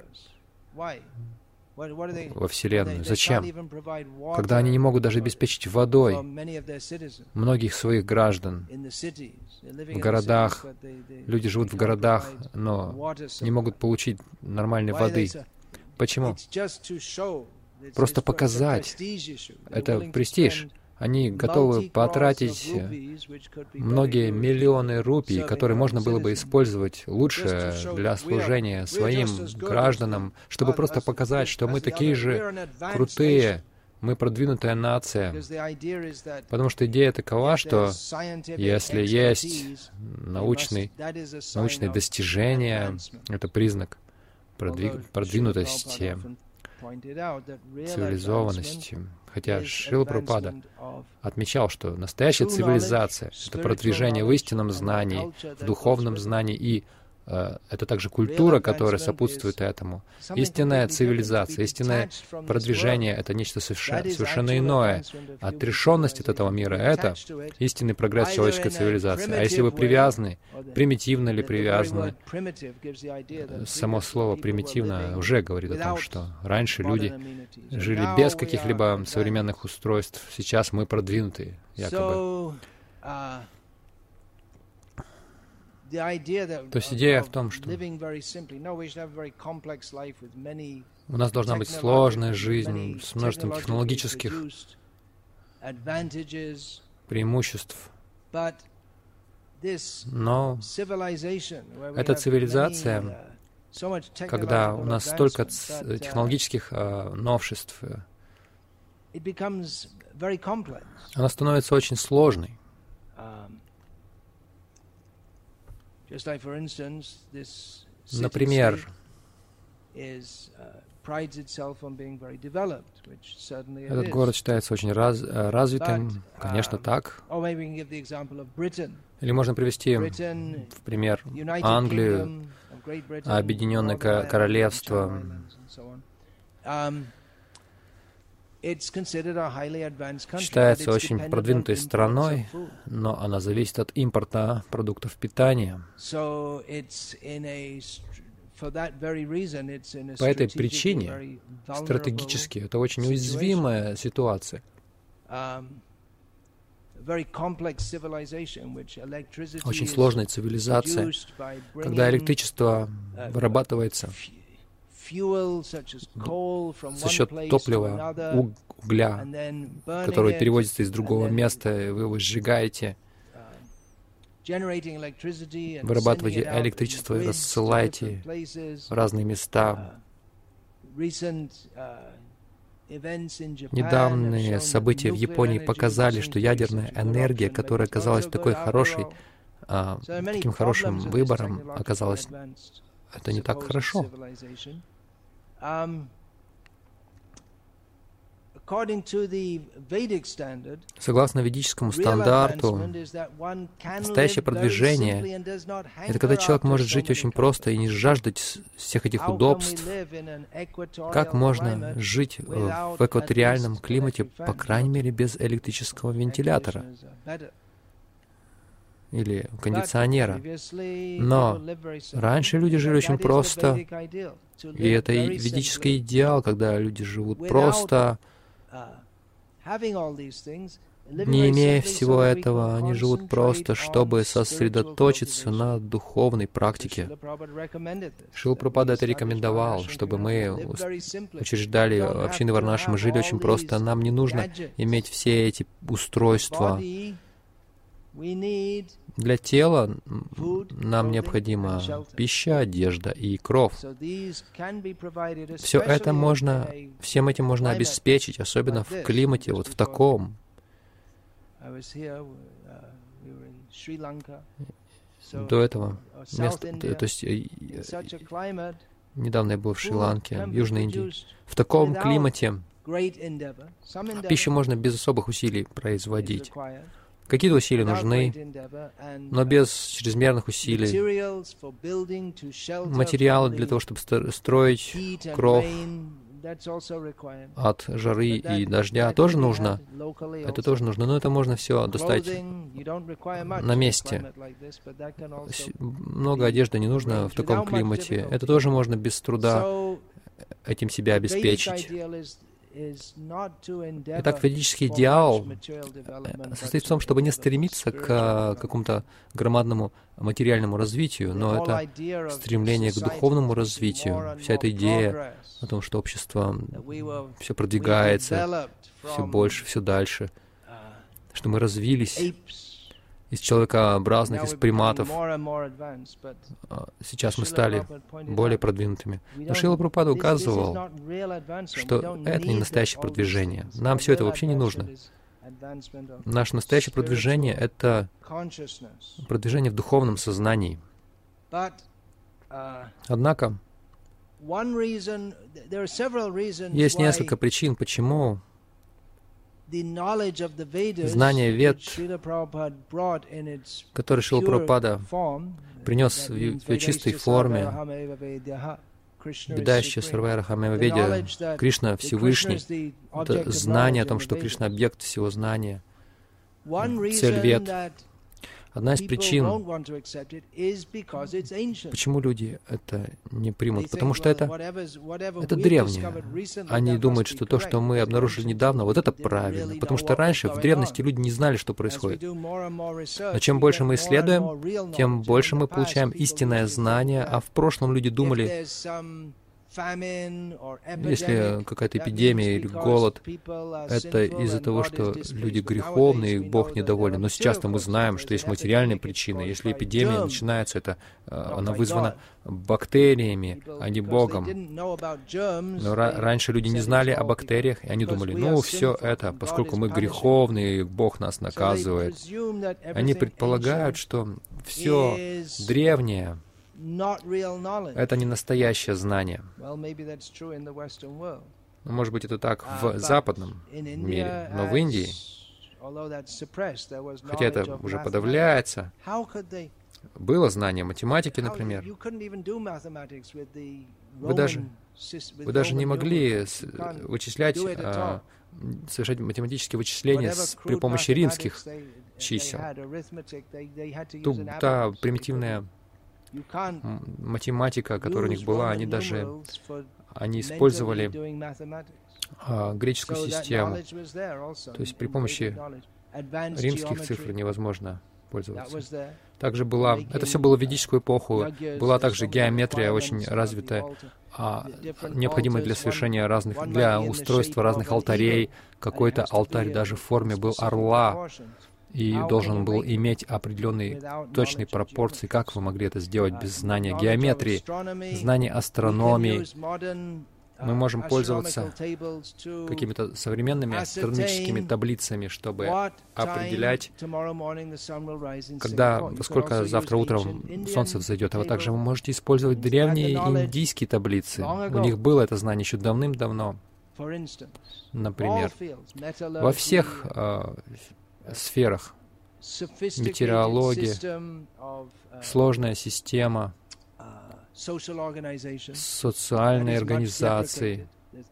во Вселенную? Зачем? Когда они не могут даже обеспечить водой многих своих граждан. В городах, люди живут в городах, но не могут получить нормальной воды. Почему? Просто показать. Это престиж. Они готовы потратить многие миллионы рупий, которые можно было бы использовать лучше для служения своим гражданам, чтобы просто показать, что мы такие же крутые, мы продвинутая нация. Потому что идея такова, что если есть научный, научные достижения, это признак продвиг, продвинутости, цивилизованности. Хотя Шрила Прабхупада отмечал, что настоящая цивилизация — это продвижение в истинном знании, в духовном знании, и э, это также культура, которая сопутствует этому. Истинная цивилизация, истинное продвижение — это нечто совершенно, совершенно иное. Отрешенность от этого мира — это истинный прогресс человеческой цивилизации. А если вы привязаны, примитивно или привязаны, само слово «примитивно» уже говорит о том, что раньше люди жили без каких-либо современных устройств, сейчас мы продвинутые, якобы. То есть идея в том, что у нас должна быть сложная жизнь с множеством технологических преимуществ. Но эта цивилизация, когда у нас столько технологических uh, новшеств, она становится очень сложной. Например, этот город считается очень раз, развитым, конечно, так. Или можно привести в пример Англию, Объединенное Королевство. Считается очень продвинутой страной, но она зависит от импорта продуктов питания. По этой причине стратегически это очень уязвимая ситуация. Очень сложная цивилизация, когда электричество вырабатывается за счет топлива, угля, которое перевозится из другого места, вы его сжигаете, вырабатываете электричество и рассылаете в разные места. Недавние события в Японии показали, что ядерная энергия, которая казалась такой хорошей, а, таким хорошим выбором, оказалась, это не так хорошо. Согласно ведическому стандарту, настоящее продвижение — это когда человек может жить очень просто и не жаждать всех этих удобств. Как можно жить в экваториальном климате, по крайней мере, без электрического вентилятора или кондиционера? Но раньше люди жили очень просто, и это ведический идеал, когда люди живут просто, Не имея всего этого, они живут просто, чтобы сосредоточиться на духовной практике. Шрила Прабхупада это рекомендовал, чтобы мы учреждали общины Варнаши. Мы жили очень просто. Нам не нужно иметь все эти устройства. Для тела нам необходима пища, одежда и кров. Все это можно, всем этим можно обеспечить, особенно в климате, вот в таком. До этого места, то есть недавно я был в Шри-Ланке, в Южной Индии. В таком климате пищу можно без особых усилий производить. Какие-то усилия нужны, но без чрезмерных усилий. Материалы для того, чтобы строить кров от жары и дождя, тоже нужно. Это тоже нужно, но это можно все достать на месте. Много одежды не нужно в таком климате. Это тоже можно без труда этим себя обеспечить. Итак, ведический идеал состоит в том, чтобы не стремиться к какому-то громадному материальному развитию, но это стремление к духовному развитию, вся эта идея о том, что общество все продвигается, все больше, все дальше, что мы развились из человекообразных, из приматов. Сейчас мы стали более продвинутыми. Но Шрила Прабхупада указывал, что это не настоящее продвижение. Нам все это вообще не нужно. Наше настоящее продвижение — это продвижение в духовном сознании. Однако, есть несколько причин, почему знание Вед, которое Шрила Прабхупада принес в ее чистой форме, Ведающая Сарвайра Хамева Ведя, Кришна Всевышний, это знание о том, что Кришна — объект всего знания, цель Вед. Одна из причин, почему люди это не примут, потому что это, это древнее. Они думают, что то, что мы обнаружили недавно, вот это правильно, потому что раньше, в древности, люди не знали, что происходит. Но чем больше мы исследуем, тем больше мы получаем истинное знание, а в прошлом люди думали, если какая-то эпидемия или голод, это из-за того, что люди греховные, и Бог недоволен. Но сейчас-то мы знаем, что есть материальные причины. Если эпидемия начинается, это она вызвана бактериями, а не Богом. Но раньше люди не знали о бактериях, и они думали, ну, все это, поскольку мы греховные, Бог нас наказывает. Они предполагают, что все древнее — это не настоящее знание. Может быть, это так в западном мире, но в Индии, хотя это уже подавляется, было знание математики, например. Вы даже, вы даже не могли вычислять, а, совершать математические вычисления с, при помощи римских чисел. Ту, та примитивная математика, которая у них была, они даже они использовали а, греческую систему. То есть при помощи римских цифр невозможно пользоваться. Также была, это все было в ведическую эпоху, была также геометрия очень развитая, а, необходимая для совершения разных, для устройства разных алтарей. Какой-то алтарь даже в форме был орла и должен был иметь определенные точные пропорции. Как вы могли это сделать без знания геометрии, знания астрономии? Мы можем пользоваться какими-то современными астрономическими таблицами, чтобы определять, когда, во сколько завтра утром солнце взойдет. А вы также вы можете использовать древние индийские таблицы. У них было это знание еще давным-давно. Например, во всех э, сферах. Метеорология, сложная система, социальные организации.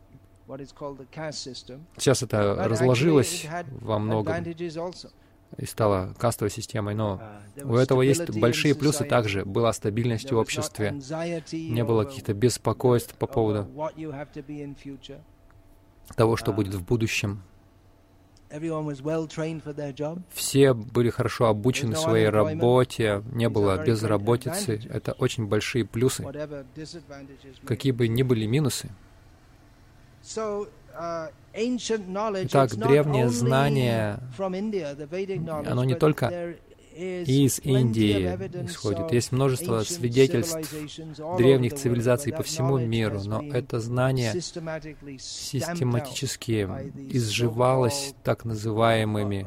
Сейчас это разложилось во многом и стало кастовой системой, но у этого есть большие плюсы также. Была стабильность в обществе, не было каких-то беспокойств по поводу того, что будет в будущем. Все были хорошо обучены своей работе, не было безработицы. Это очень большие плюсы, какие бы ни были минусы. Итак, древнее знание, оно не только из Индии исходит. Есть множество свидетельств древних цивилизаций по всему миру, но это знание систематически изживалось так называемыми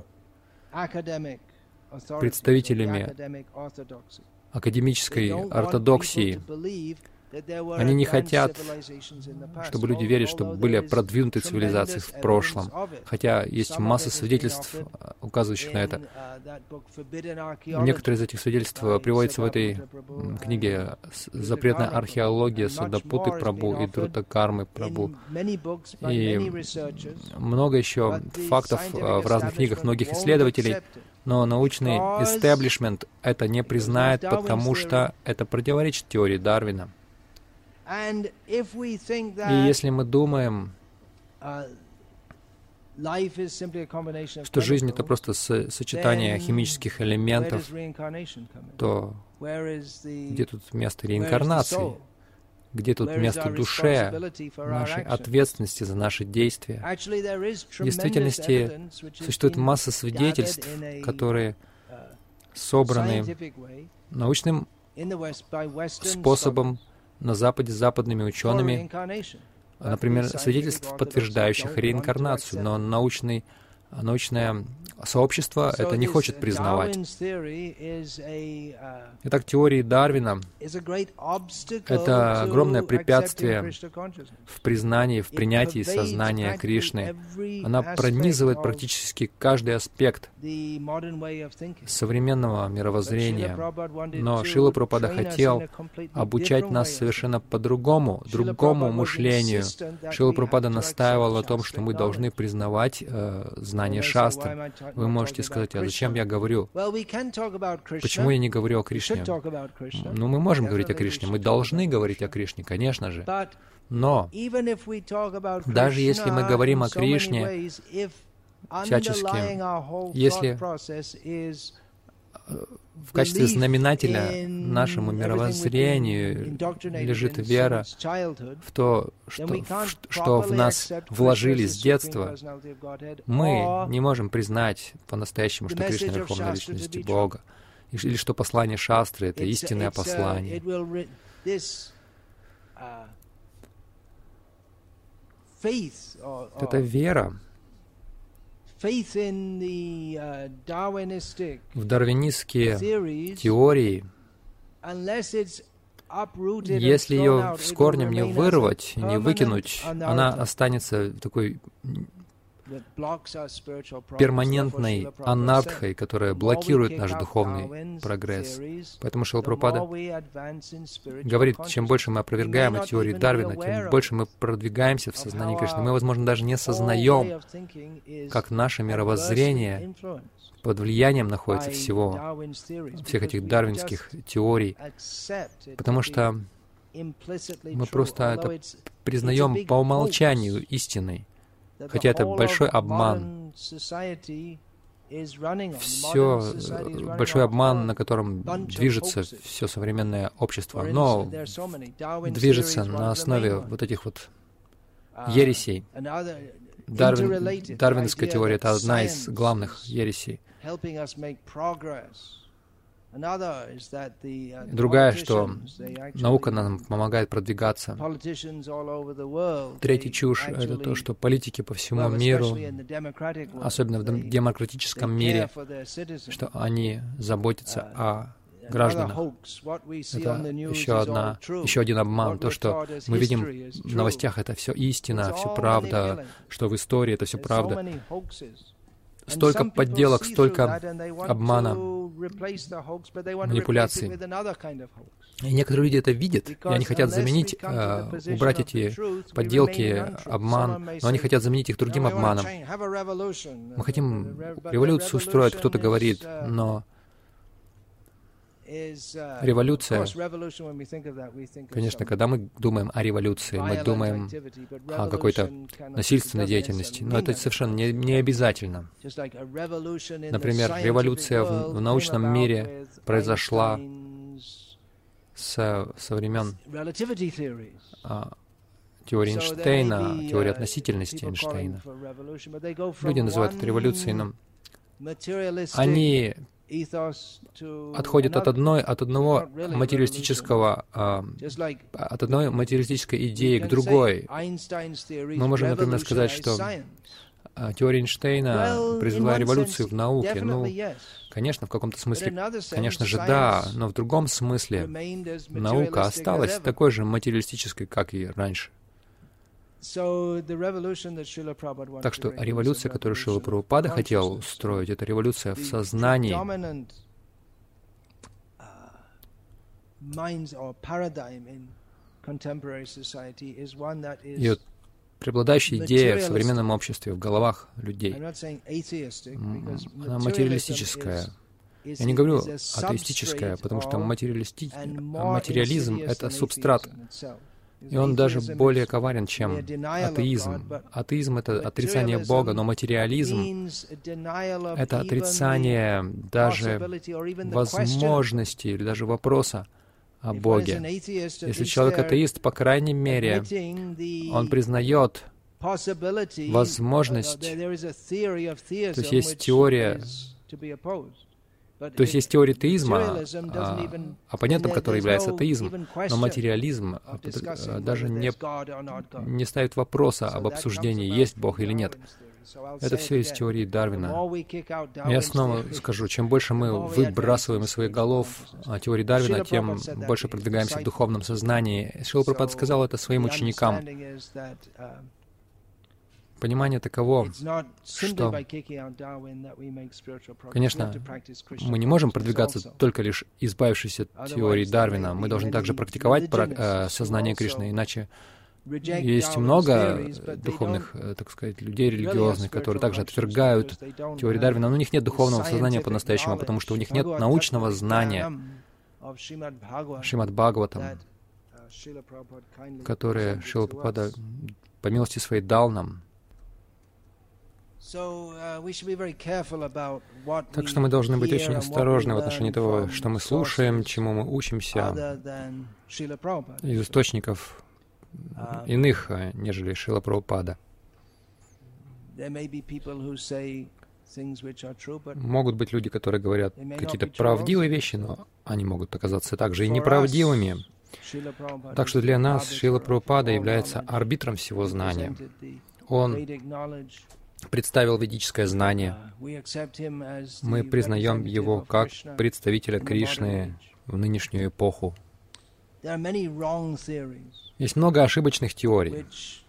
представителями академической ортодоксии. Они не хотят, чтобы люди верили, что были продвинутые цивилизации в прошлом, хотя есть масса свидетельств, указывающих на это. Некоторые из этих свидетельств приводятся в этой книге «Запретная археология» Садапуты Прабху и Друта-Кармы Прабху. И много еще фактов в разных книгах многих исследователей, но научный истеблишмент это не признает, потому что это противоречит теории Дарвина. И если мы думаем, что жизнь — это просто со- сочетание химических элементов, то где тут место реинкарнации? Где тут место душе, нашей ответственности за наши действия? В действительности существует масса свидетельств, которые собраны научным способом на Западе западными учеными, например, свидетельств, подтверждающих реинкарнацию, но научный, научное сообщество это не хочет признавать. Итак, теория Дарвина — это огромное препятствие в признании, в принятии сознания Кришны. Она пронизывает практически каждый аспект современного мировоззрения. Но Шрила Прабхупада хотел обучать нас совершенно по-другому, другому мышлению. Шрила Прабхупада настаивал на том, что мы должны признавать э, знание шастры. Вы можете сказать, а зачем я говорю? Почему я не говорю о Кришне? Ну, мы можем говорить о Кришне, мы должны говорить о Кришне, конечно же. Но даже если мы говорим о Кришне всячески, если в качестве знаменателя нашему мировоззрению лежит вера в то, что, в, что в нас вложили с детства, мы не можем признать по-настоящему, что Кришна — Верховная Личность Бога, или что послание шастры — это истинное послание. Это вера в дарвинистские теории, если ее с корнем не вырвать, не выкинуть, она останется такой перманентной анартхой, которая блокирует наш духовный прогресс. Поэтому Шрила Прабхупада говорит, чем больше мы опровергаем эти теории Дарвина, тем больше мы продвигаемся в сознании Кришны. Мы, возможно, даже не сознаем, как наше мировоззрение под влиянием находится всего, всех этих дарвинских теорий, потому что мы просто это признаем по умолчанию истиной. Хотя это большой обман. Все, большой обман, на котором движется все современное общество. Но движется на основе вот этих вот ересей. Дарвин, дарвинская теория — это одна из главных ересей. Другая, что наука нам помогает продвигаться. Третья чушь — это то, что политики по всему миру, особенно в демократическом мире, что они заботятся о гражданах. Это еще, одна, еще один обман. То, что мы видим в новостях, это все истина, все правда, что в истории это все правда. Столько подделок, столько обмана, манипуляций. И некоторые люди это видят, и они хотят заменить, э, убрать эти подделки, обман, но они хотят заменить их другим обманом. Мы хотим революцию устроить, кто-то говорит, но Революция, конечно, когда мы думаем о революции, мы думаем о какой-то насильственной деятельности, но это совершенно не, не обязательно. Например, революция в, в научном мире произошла со, со времен а, теории Эйнштейна, теории относительности Эйнштейна. Люди называют это революцией, но они отходят от одной, от одного материалистического, а, от одной материалистической идеи к другой. Мы можем, например, сказать, что теория Эйнштейна произвела революцию в науке. Ну, конечно, в каком-то смысле, конечно же, да, но в другом смысле наука осталась такой же материалистической, как и раньше. Так что революция, которую Шрила Прабхупада хотел устроить, это революция в сознании. И вот преобладающая идея в современном обществе, в головах людей, она материалистическая. Я не говорю атеистическая, потому что материалисти... материализм — это субстрат. И он даже более коварен, чем атеизм. Атеизм — это отрицание Бога, но материализм — это отрицание даже возможности или даже вопроса о Боге. Если человек атеист, по крайней мере, он признает возможность, то есть есть теория, то есть есть теория теизма, а, оппонентом которой является атеизм, но материализм даже не, не ставит вопроса об обсуждении, есть Бог или нет. Это все из теории Дарвина. Я снова скажу, чем больше мы выбрасываем из своих голов теории Дарвина, тем больше продвигаемся в духовном сознании. Шрила Прабхупада сказал это своим ученикам. Понимание таково, что, конечно, мы не можем продвигаться только лишь избавившись от теории Дарвина. Мы должны также практиковать э, сознание Кришны, иначе есть много духовных, так сказать, людей религиозных, которые также отвергают теорию Дарвина, но у них нет духовного сознания по-настоящему, потому что у них нет научного знания Шримад Бхагаватам, которое Шрила Прабхупада по милости своей дал нам. Так что мы должны быть очень осторожны в отношении того, что мы слушаем, чему мы учимся из источников иных, нежели Шрила Прабхупада. Могут быть люди, которые говорят какие-то правдивые вещи, но они могут оказаться также и неправдивыми. Так что для нас Шрила Прабхупада является арбитром всего знания. Он представил ведическое знание. Мы признаем его как представителя Кришны в нынешнюю эпоху. Есть много ошибочных теорий,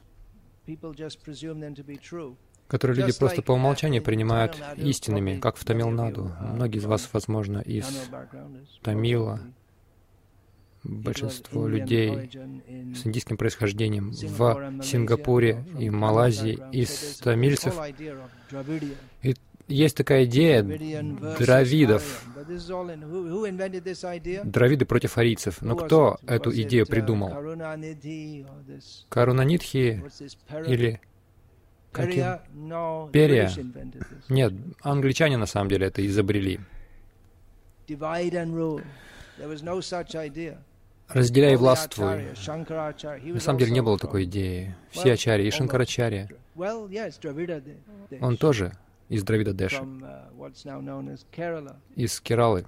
которые люди просто по умолчанию принимают истинными, как в Тамилнаду. Многие из вас, возможно, из Тамила, большинство людей с индийским происхождением в Сингапуре и Малайзии из тамильцев. И есть такая идея дравидов. Дравиды против арийцев. Но кто эту идею придумал? Карунанидхи или какие? Перия? Нет, англичане на самом деле это изобрели. Разделяй и властвуй. На самом деле не было такой идеи. Все ачарьи, и Шанкарачарья, он тоже из Дравида Деши, из Кералы.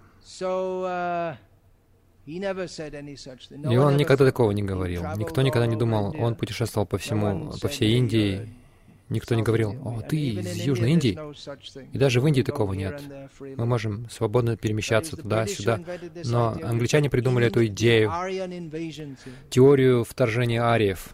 И он никогда такого не говорил. Никто никогда не думал, он путешествовал по всему, по всей Индии. Никто не говорил: «О, ты из Южной Индии». И даже в Индии такого нет. Мы можем свободно перемещаться туда-сюда. Но англичане придумали эту идею, теорию вторжения ариев.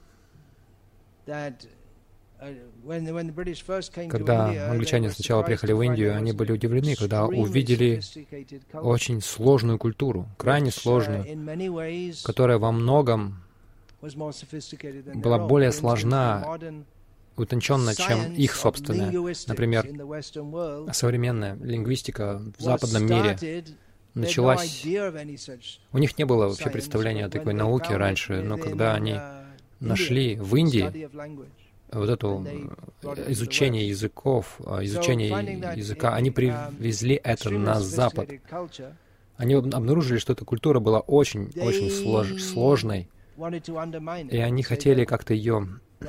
Когда англичане сначала приехали в Индию, они были удивлены, когда увидели очень сложную культуру, крайне сложную, которая во многом была более сложна, утонченно, чем их собственная. Например, современная лингвистика в западном мире началась... У них не было вообще представления о такой науке раньше, но когда они нашли в Индии вот это изучение языков, изучение языка, они привезли это на Запад. Они обнаружили, что эта культура была очень-очень слож, сложной, и они хотели как-то ее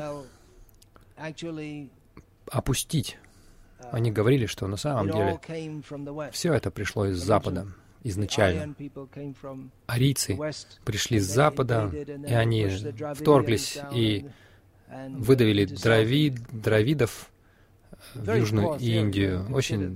опустить. Они говорили, что на самом деле все это пришло из Запада изначально. Арийцы пришли с Запада, и они вторглись и выдавили дравид, дравидов в Южную Индию. Очень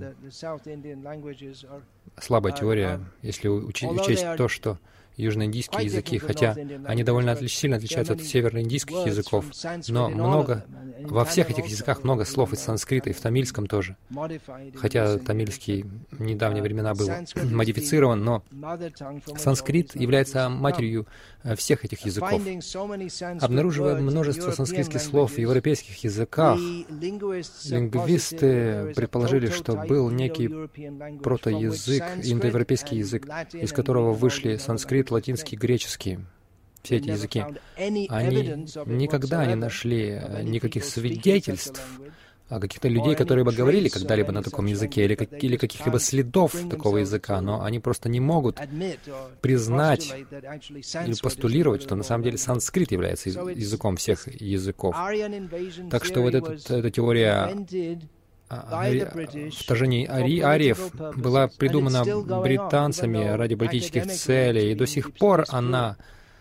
слабая теория, если учесть, учесть то, что южноиндийские языки, хотя они довольно отлич, сильно отличаются от североиндийских языков, но много, во всех этих языках много слов из санскрита, и в тамильском тоже. Хотя тамильский в недавние времена был модифицирован, но санскрит является матерью всех этих языков. Обнаруживая множество санскритских слов в европейских языках, лингвисты предположили, что был некий протоязык, индоевропейский язык, из которого вышли санскрит, латинский, греческий, все эти языки. Они никогда не нашли никаких свидетельств о каких-то людей, которые бы говорили когда-либо на таком языке, или, как, или каких-либо следов такого языка, но они просто не могут признать или постулировать, что на самом деле санскрит является языком всех языков. Так что вот этот, эта теория вторжение ари, ариев была придумана британцами ради политических целей, и до сих пор она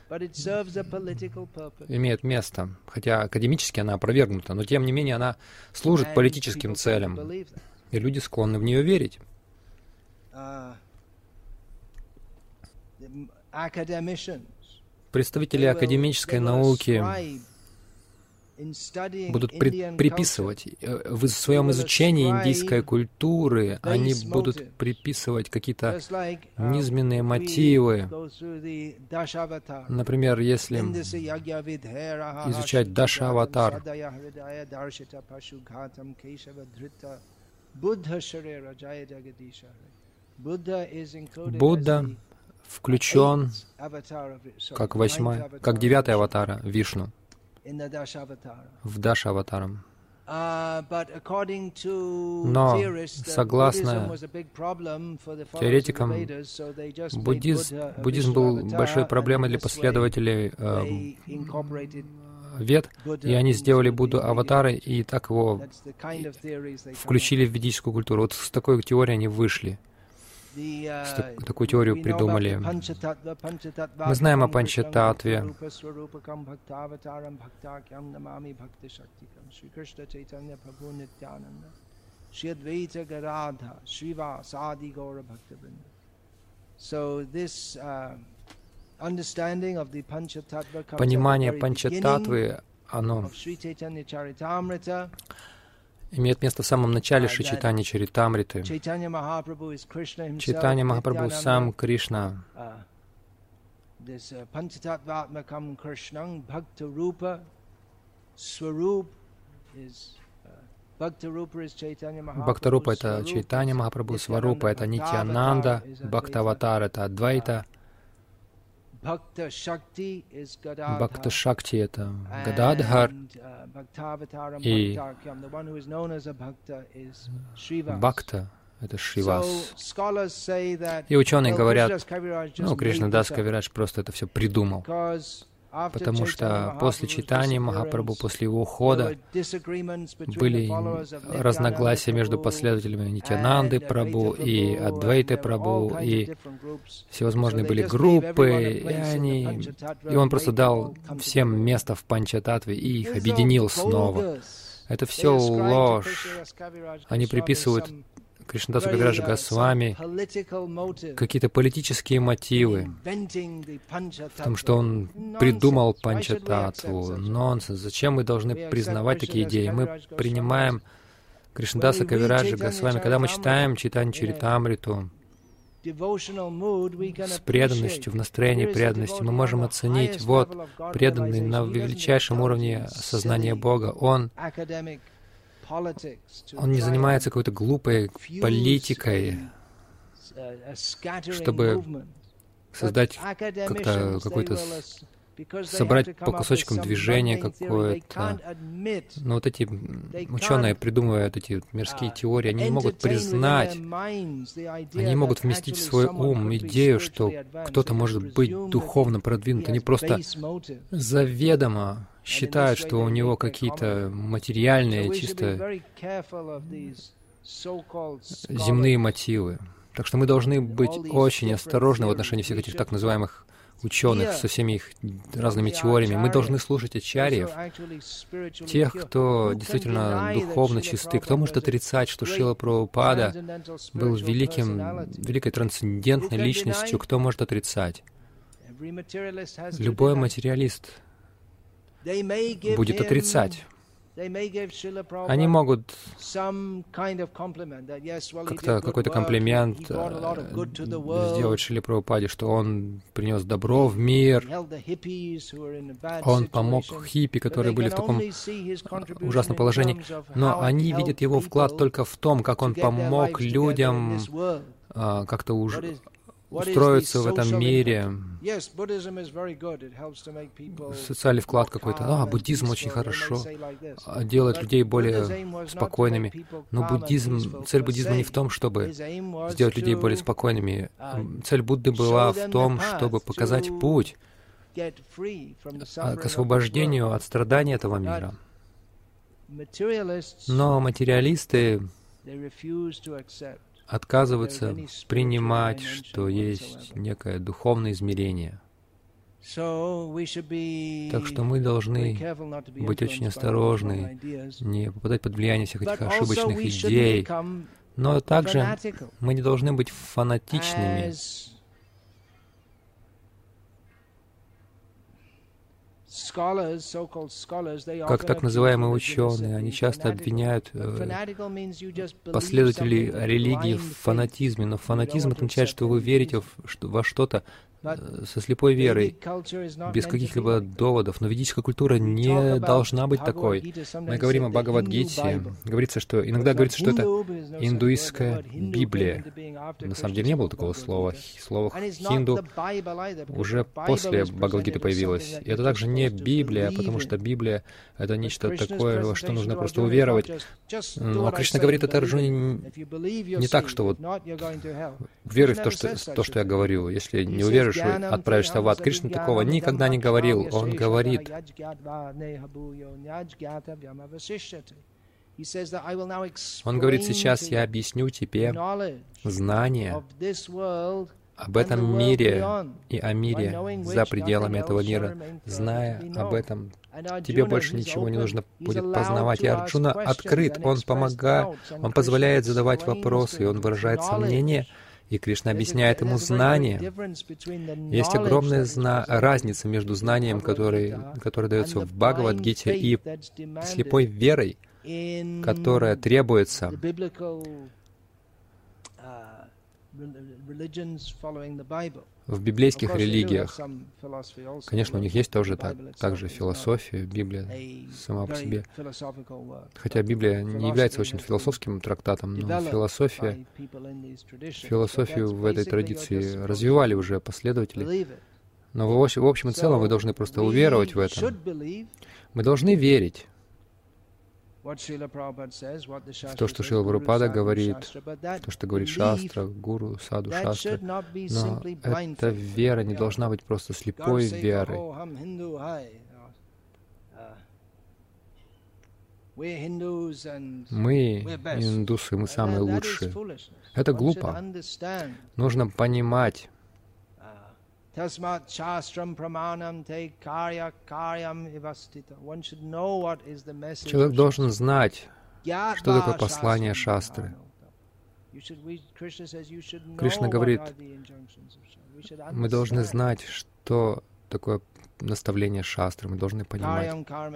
имеет место, хотя академически она опровергнута, но тем не менее она служит политическим целям, и люди склонны в нее верить. Представители академической науки будут при, приписывать в своем изучении индийской культуры, они будут приписывать какие-то низменные мотивы. Например, если изучать Даша-аватар, Будда включен как восьмой, как девятый аватара Вишну в Даша-аватарам. Но, согласно теоретикам, буддизм, буддизм был большой проблемой для последователей э, Вед, и они сделали Будду аватарой, и так его включили в ведическую культуру. Вот с такой теорией они вышли. Так, такую теорию придумали. Мы знаем о Панчататве. Понимание Панчататвы, оно имеет место в самом начале Шри Чайтанья Чаритамриты. Чайтанья Махапрабху сам Кришна. Бхактарупа — это Чайтанья Махапрабху, Сварупа — это Нитьянанда, Бхактаватар — это Адвайта, Бхакта Шакти — это Гададхар, и Бхакта — это Шривас. И ученые говорят, ну, Кришнадас Кавирадж просто это все придумал, потому что после Чайтаньи Махапрабху, после его ухода, были разногласия между последователями Нитьянанды Прабху и Адвайты Прабху, и всевозможные были группы, и они... И он просто дал всем место в Панчататве и их объединил снова. Это все ложь. Они приписывают Кришнадасу Кавираджа Госвами какие-то политические мотивы в том, что он придумал Панчататву. Нонсенс. Зачем мы должны признавать такие идеи? Мы принимаем Кришнадаса Кавираджа Госвами, когда мы читаем Чайтанью Чаритамриту с преданностью, в настроении преданности, мы можем оценить, вот, преданный на величайшем уровне сознания Бога, он Он не занимается какой-то глупой политикой, чтобы создать как-то какой-то, собрать по кусочкам движение какое-то. Но вот эти ученые, придумывают эти мирские теории, они не могут признать, они не могут вместить в свой ум идею, что кто-то может быть духовно продвинут. Они просто заведомо считают, что у него какие-то материальные, чисто земные мотивы. Так что мы должны быть очень осторожны в отношении всех этих так называемых ученых со всеми их разными теориями. Мы должны слушать ачарьев, тех, кто действительно духовно чисты. Кто может отрицать, что Шрила Прабхупада был великим, великой трансцендентной личностью? Кто может отрицать? Любой материалист будет отрицать. Они могут как-то какой-то комплимент сделать Шриле Прабхупаде, что он принес добро в мир, он помог хиппи, которые были в таком ужасном положении, но они видят его вклад только в том, как он помог людям как-то уже устроиться в этом мире. Социальный вклад какой-то. А, буддизм очень хорошо. Делает людей более спокойными. Но буддизм, цель буддизма не в том, чтобы сделать людей более спокойными. Цель Будды была в том, чтобы показать путь к освобождению от страданий этого мира. Но материалисты отказываются принимать, что есть некое духовное измерение. Так что мы должны быть очень осторожны, не попадать под влияние всех этих ошибочных идей. Но также мы не должны быть фанатичными. Как так называемые ученые, они часто обвиняют э, последователей религии в фанатизме, но фанатизм означает, что вы верите во что-то со слепой верой, без каких-либо доводов. Но ведическая культура не должна быть такой. Мы говорим о Бхагавад-гите. Говорится, что иногда говорится, что это индуистская Библия. На самом деле не было такого слова. Слово «хинду» уже после Бхагавад-гиты появилось. И это также не Библия, потому что Библия — это нечто такое, во что нужно просто уверовать. Но Кришна говорит это Арджуне не так, что вот веруй в то, что, то, что я говорю. Если не уверуешь, отправишься в ад. Кришна такого никогда не говорил. Он говорит, он говорит, сейчас я объясню тебе знание об этом мире и о мире за пределами этого мира. Зная об этом, тебе больше ничего не нужно будет познавать. И Арджуна открыт, он помогает, он позволяет задавать вопросы, и он выражает сомнения. И Кришна объясняет ему знание. Есть огромная зна... разница между знанием, который, которое дается в Бхагавад-гите, и слепой верой, которая требуется в библейских религиях. Конечно, у них есть тоже так, также философия, Библия сама по себе. Хотя Библия не является очень философским трактатом, но философия, философию в этой традиции развивали уже последователи. Но в общем, в общем и целом вы должны просто уверовать в это. Мы должны верить в то, что Шрила Прабхупада говорит, то, что говорит Шастра, Гуру, Саду, Шастра. Но эта вера не должна быть просто слепой верой. Мы индусы, мы самые лучшие. Это глупо. Нужно понимать. Человек должен знать, что такое послание шастры. Кришна говорит, мы должны знать, что такое наставление шастры, мы должны понимать.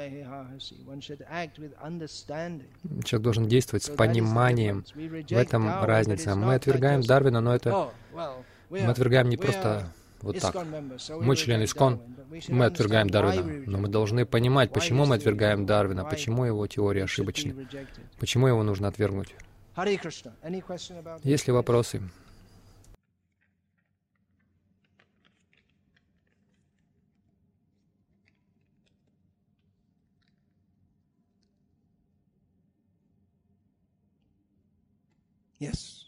Человек должен действовать с пониманием. В этом разница. Мы отвергаем Дарвина, но это... Мы отвергаем не просто... Вот так. Мы члены ИСККОН, мы отвергаем Дарвина, но мы должны понимать, почему мы отвергаем Дарвина, почему его теории ошибочны, почему его нужно отвергнуть. Есть ли вопросы? Yes.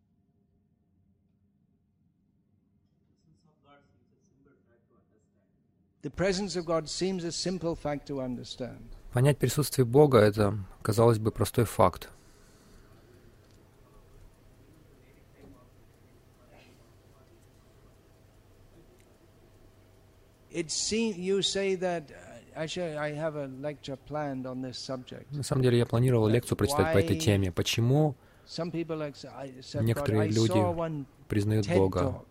The presence of God seems a simple fact to understand. Понять присутствие Бога — это, казалось бы, простой факт. It seems you say that actually I have a lecture planned on this subject. На самом деле я планировал лекцию прочитать по этой теме. Почему некоторые люди признают Бога?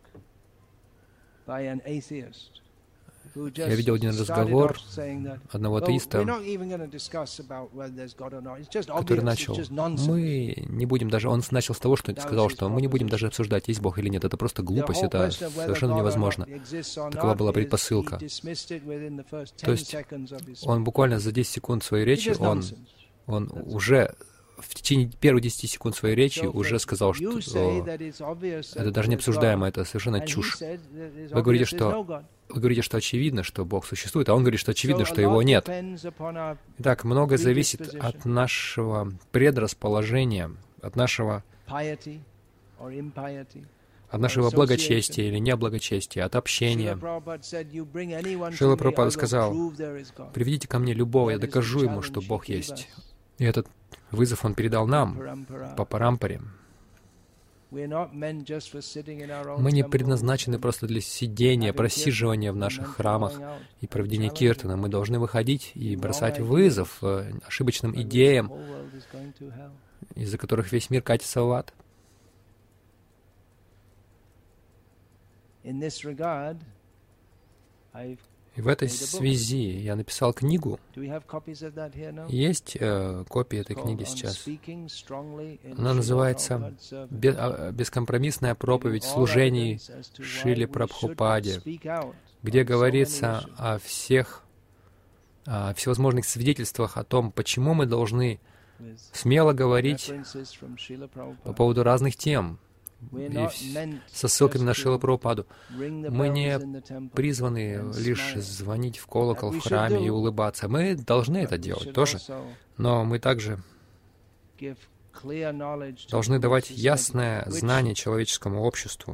Я видел один разговор одного атеиста, который начал, мы не будем даже, он начал с того, что сказал, что мы не будем даже обсуждать, есть Бог или нет, это просто глупость, это совершенно невозможно. Такова была предпосылка. То есть он буквально за десять секунд своей речи, он, он уже в течение первых десяти секунд своей речи уже сказал, что это даже не обсуждаемо, это совершенно чушь. Вы говорите, что Вы говорите, что очевидно, что Бог существует, а он говорит, что очевидно, что Его нет. Итак, многое зависит от нашего предрасположения, от нашего, от нашего благочестия или неблагочестия, от общения. Шрила Прабхупада сказал, приведите ко мне любого, я докажу ему, что Бог есть. И этот вызов он передал нам по парампаре. Мы не предназначены просто для сидения, просиживания в наших храмах и проведения киртана. Мы должны выходить и бросать вызов ошибочным идеям, из-за которых весь мир катится в ад. И в этой связи я написал книгу. Есть э, копии этой книги сейчас. Она называется «Бескомпромиссная проповедь служений Шриле Прабхупаде», где говорится о всех о всевозможных свидетельствах о том, почему мы должны смело говорить по поводу разных тем, и со ссылками на Шрилу Прабхупаду. Мы не призваны лишь звонить в колокол в храме и улыбаться. Мы должны это делать тоже. Но мы также должны давать ясное знание человеческому обществу.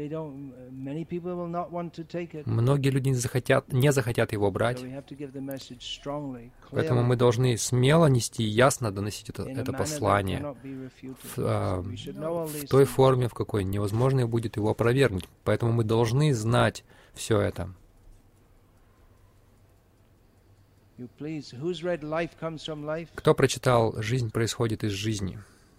Многие люди не захотят, не захотят его брать, поэтому мы должны смело нести и ясно доносить это, это послание в, а, в той форме, в какой невозможно будет его опровергнуть. Поэтому мы должны знать все это. Кто прочитал «Жизнь происходит из жизни»?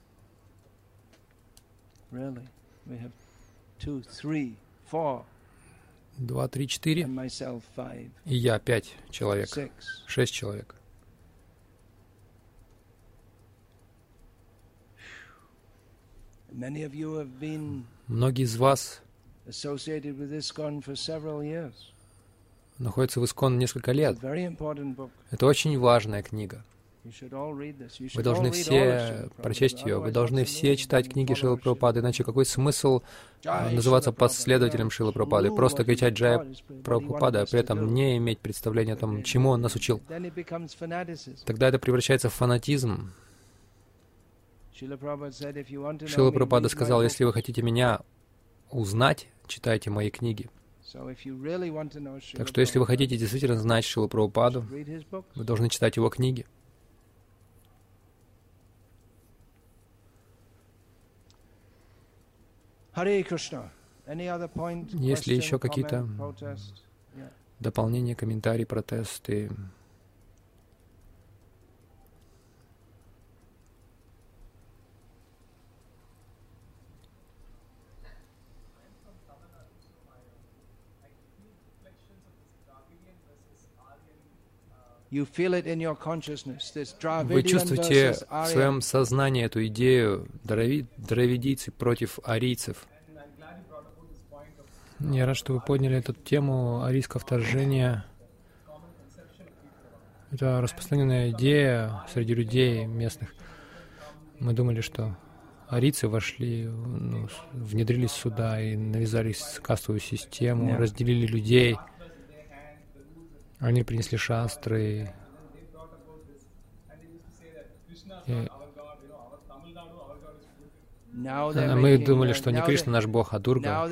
Два, три, четыре. И я пять человек. Шесть человек. Многие из вас находятся в Искон несколько лет. Это очень важная книга. Вы должны все прочесть ее, вы должны все читать книги Шрилы Прабхупады, иначе какой смысл называться последователем Шрилы Прабхупады, просто кричать «Джая Прабхупада», а при этом не иметь представления о том, чему он нас учил. Тогда это превращается в фанатизм. Шрила Прабхупада сказал, если вы хотите меня узнать, читайте мои книги. Так что если вы хотите действительно знать Шрилу Прабхупаду, вы должны читать его книги. Есть ли еще какие-то дополнения, комментарии, протесты? Вы чувствуете в своем сознании эту идею дравидийцы против арийцев. Я рад, что вы подняли эту тему арийского вторжения. Это распространенная идея среди людей местных. Мы думали, что арийцы вошли, ну, внедрились сюда и навязались кастовую систему, разделили людей. Они принесли шастры. И Мы думали, что не Кришна наш Бог, а Дурга.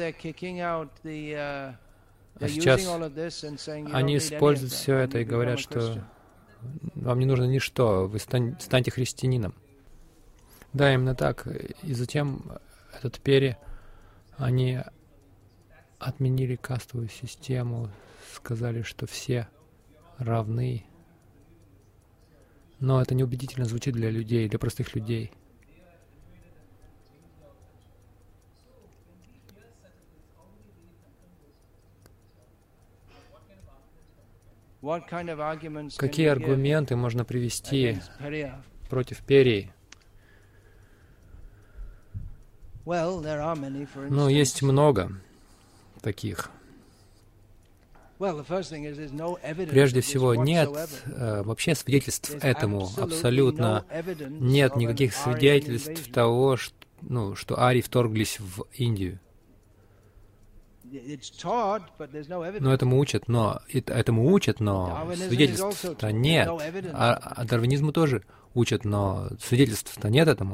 А сейчас они используют все это и говорят, что вам не нужно ничто, вы стань, станьте христианином. Да, именно так. И затем этот Пери, они отменили кастовую систему, сказали, что все равны. Но это неубедительно звучит для людей, для простых людей. Какие аргументы можно привести против Перии? Ну, есть много таких. Прежде всего, нет э, вообще свидетельств этому, абсолютно нет никаких свидетельств того, что, ну, что арии вторглись в Индию. Но этому учат, но этому учат, но свидетельств-то нет. А, а дарвинизму тоже учат, но свидетельств-то нет этому.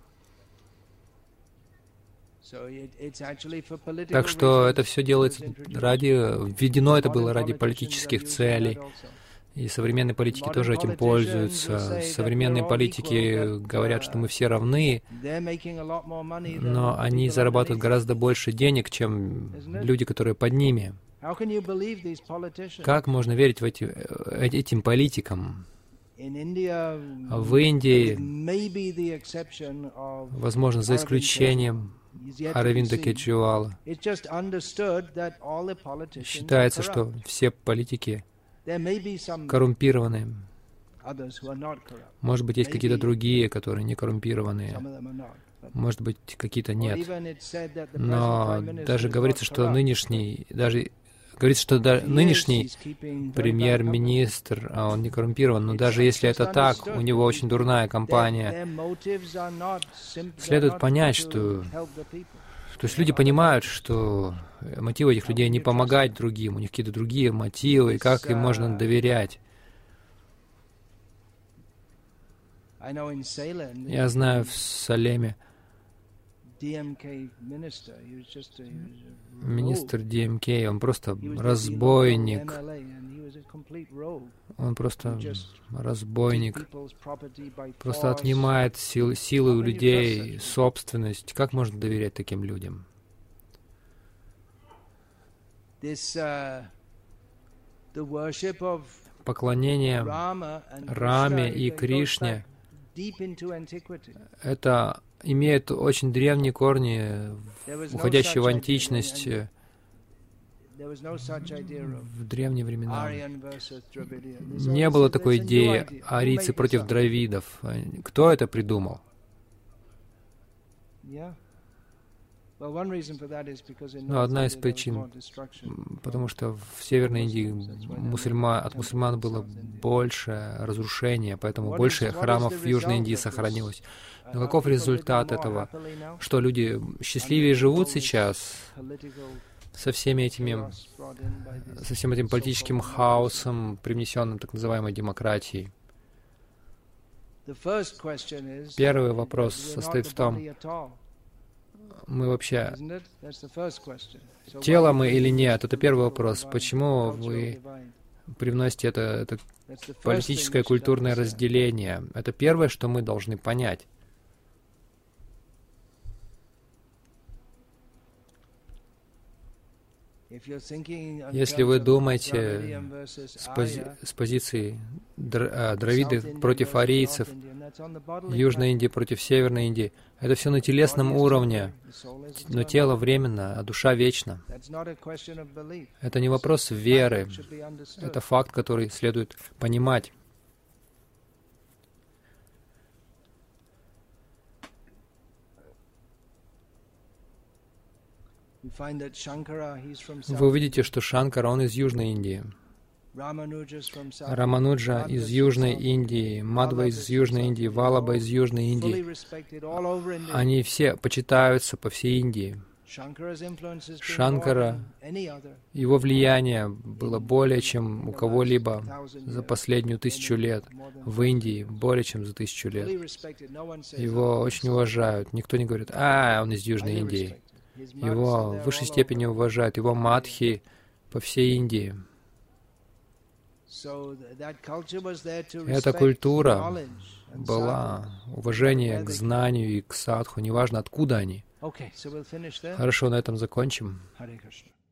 Так что это все делается ради, введено это было ради политических целей. И современные политики тоже этим пользуются. Современные политики говорят, что мы все равны, но они зарабатывают гораздо больше денег, чем люди, которые под ними. Как можно верить в эти, этим политикам? В Индии, возможно, за исключением Аравинда Кеджривала, считается, что все политики коррумпированные. Может быть, есть какие-то другие, которые не коррумпированные. Может быть, какие-то нет. Но даже говорится, что нынешний, даже говорится, что да, нынешний премьер-министр, а он не коррумпирован, но даже если это так, у него очень дурная кампания. Следует понять, что... То есть люди понимают, что мотивы этих людей не помогать другим, у них какие-то другие мотивы, и как им можно доверять. Я знаю в Салеме министр ди эм кей, он просто разбойник. Он просто разбойник. Просто отнимает сил, силы у людей, собственность. Как можно доверять таким людям? Поклонение Раме и Кришне — это имеет очень древние корни, уходящие в античность, в древние времена. Не было такой идеи арийцы против дравидов. Кто это придумал? Ну, одна из причин, потому что в Северной Индии мусульман, от мусульман было больше разрушения, поэтому больше храмов в Южной Индии сохранилось. Но каков результат этого? Что люди счастливее живут сейчас со всеми этими, со всем этим политическим хаосом, привнесенным так называемой демократией? Первый вопрос состоит в том, мы вообще... Тело мы или нет? Это первый вопрос. Почему вы привносите это, это политическое и культурное разделение? Это первое, что мы должны понять. Если вы думаете с, пози с позиции др дравиды против арийцев, Южной Индии против Северной Индии, это все на телесном уровне, но тело временно, а душа вечна. Это не вопрос веры, это факт, который следует понимать. Вы увидите, что Шанкара, он из Южной Индии. Рамануджа из Южной Индии, Мадва из Южной Индии, Валаба из Южной Индии. Они все почитаются по всей Индии. Шанкара, его влияние было более чем у кого-либо за последнюю тысячу лет. В Индии более чем за тысячу лет. Его очень уважают. Никто не говорит: «А, он из Южной Индии». Его в высшей степени уважают. Его мадхи по всей Индии. Эта культура была уважение к знанию и к садху, неважно откуда они. Хорошо, на этом закончим.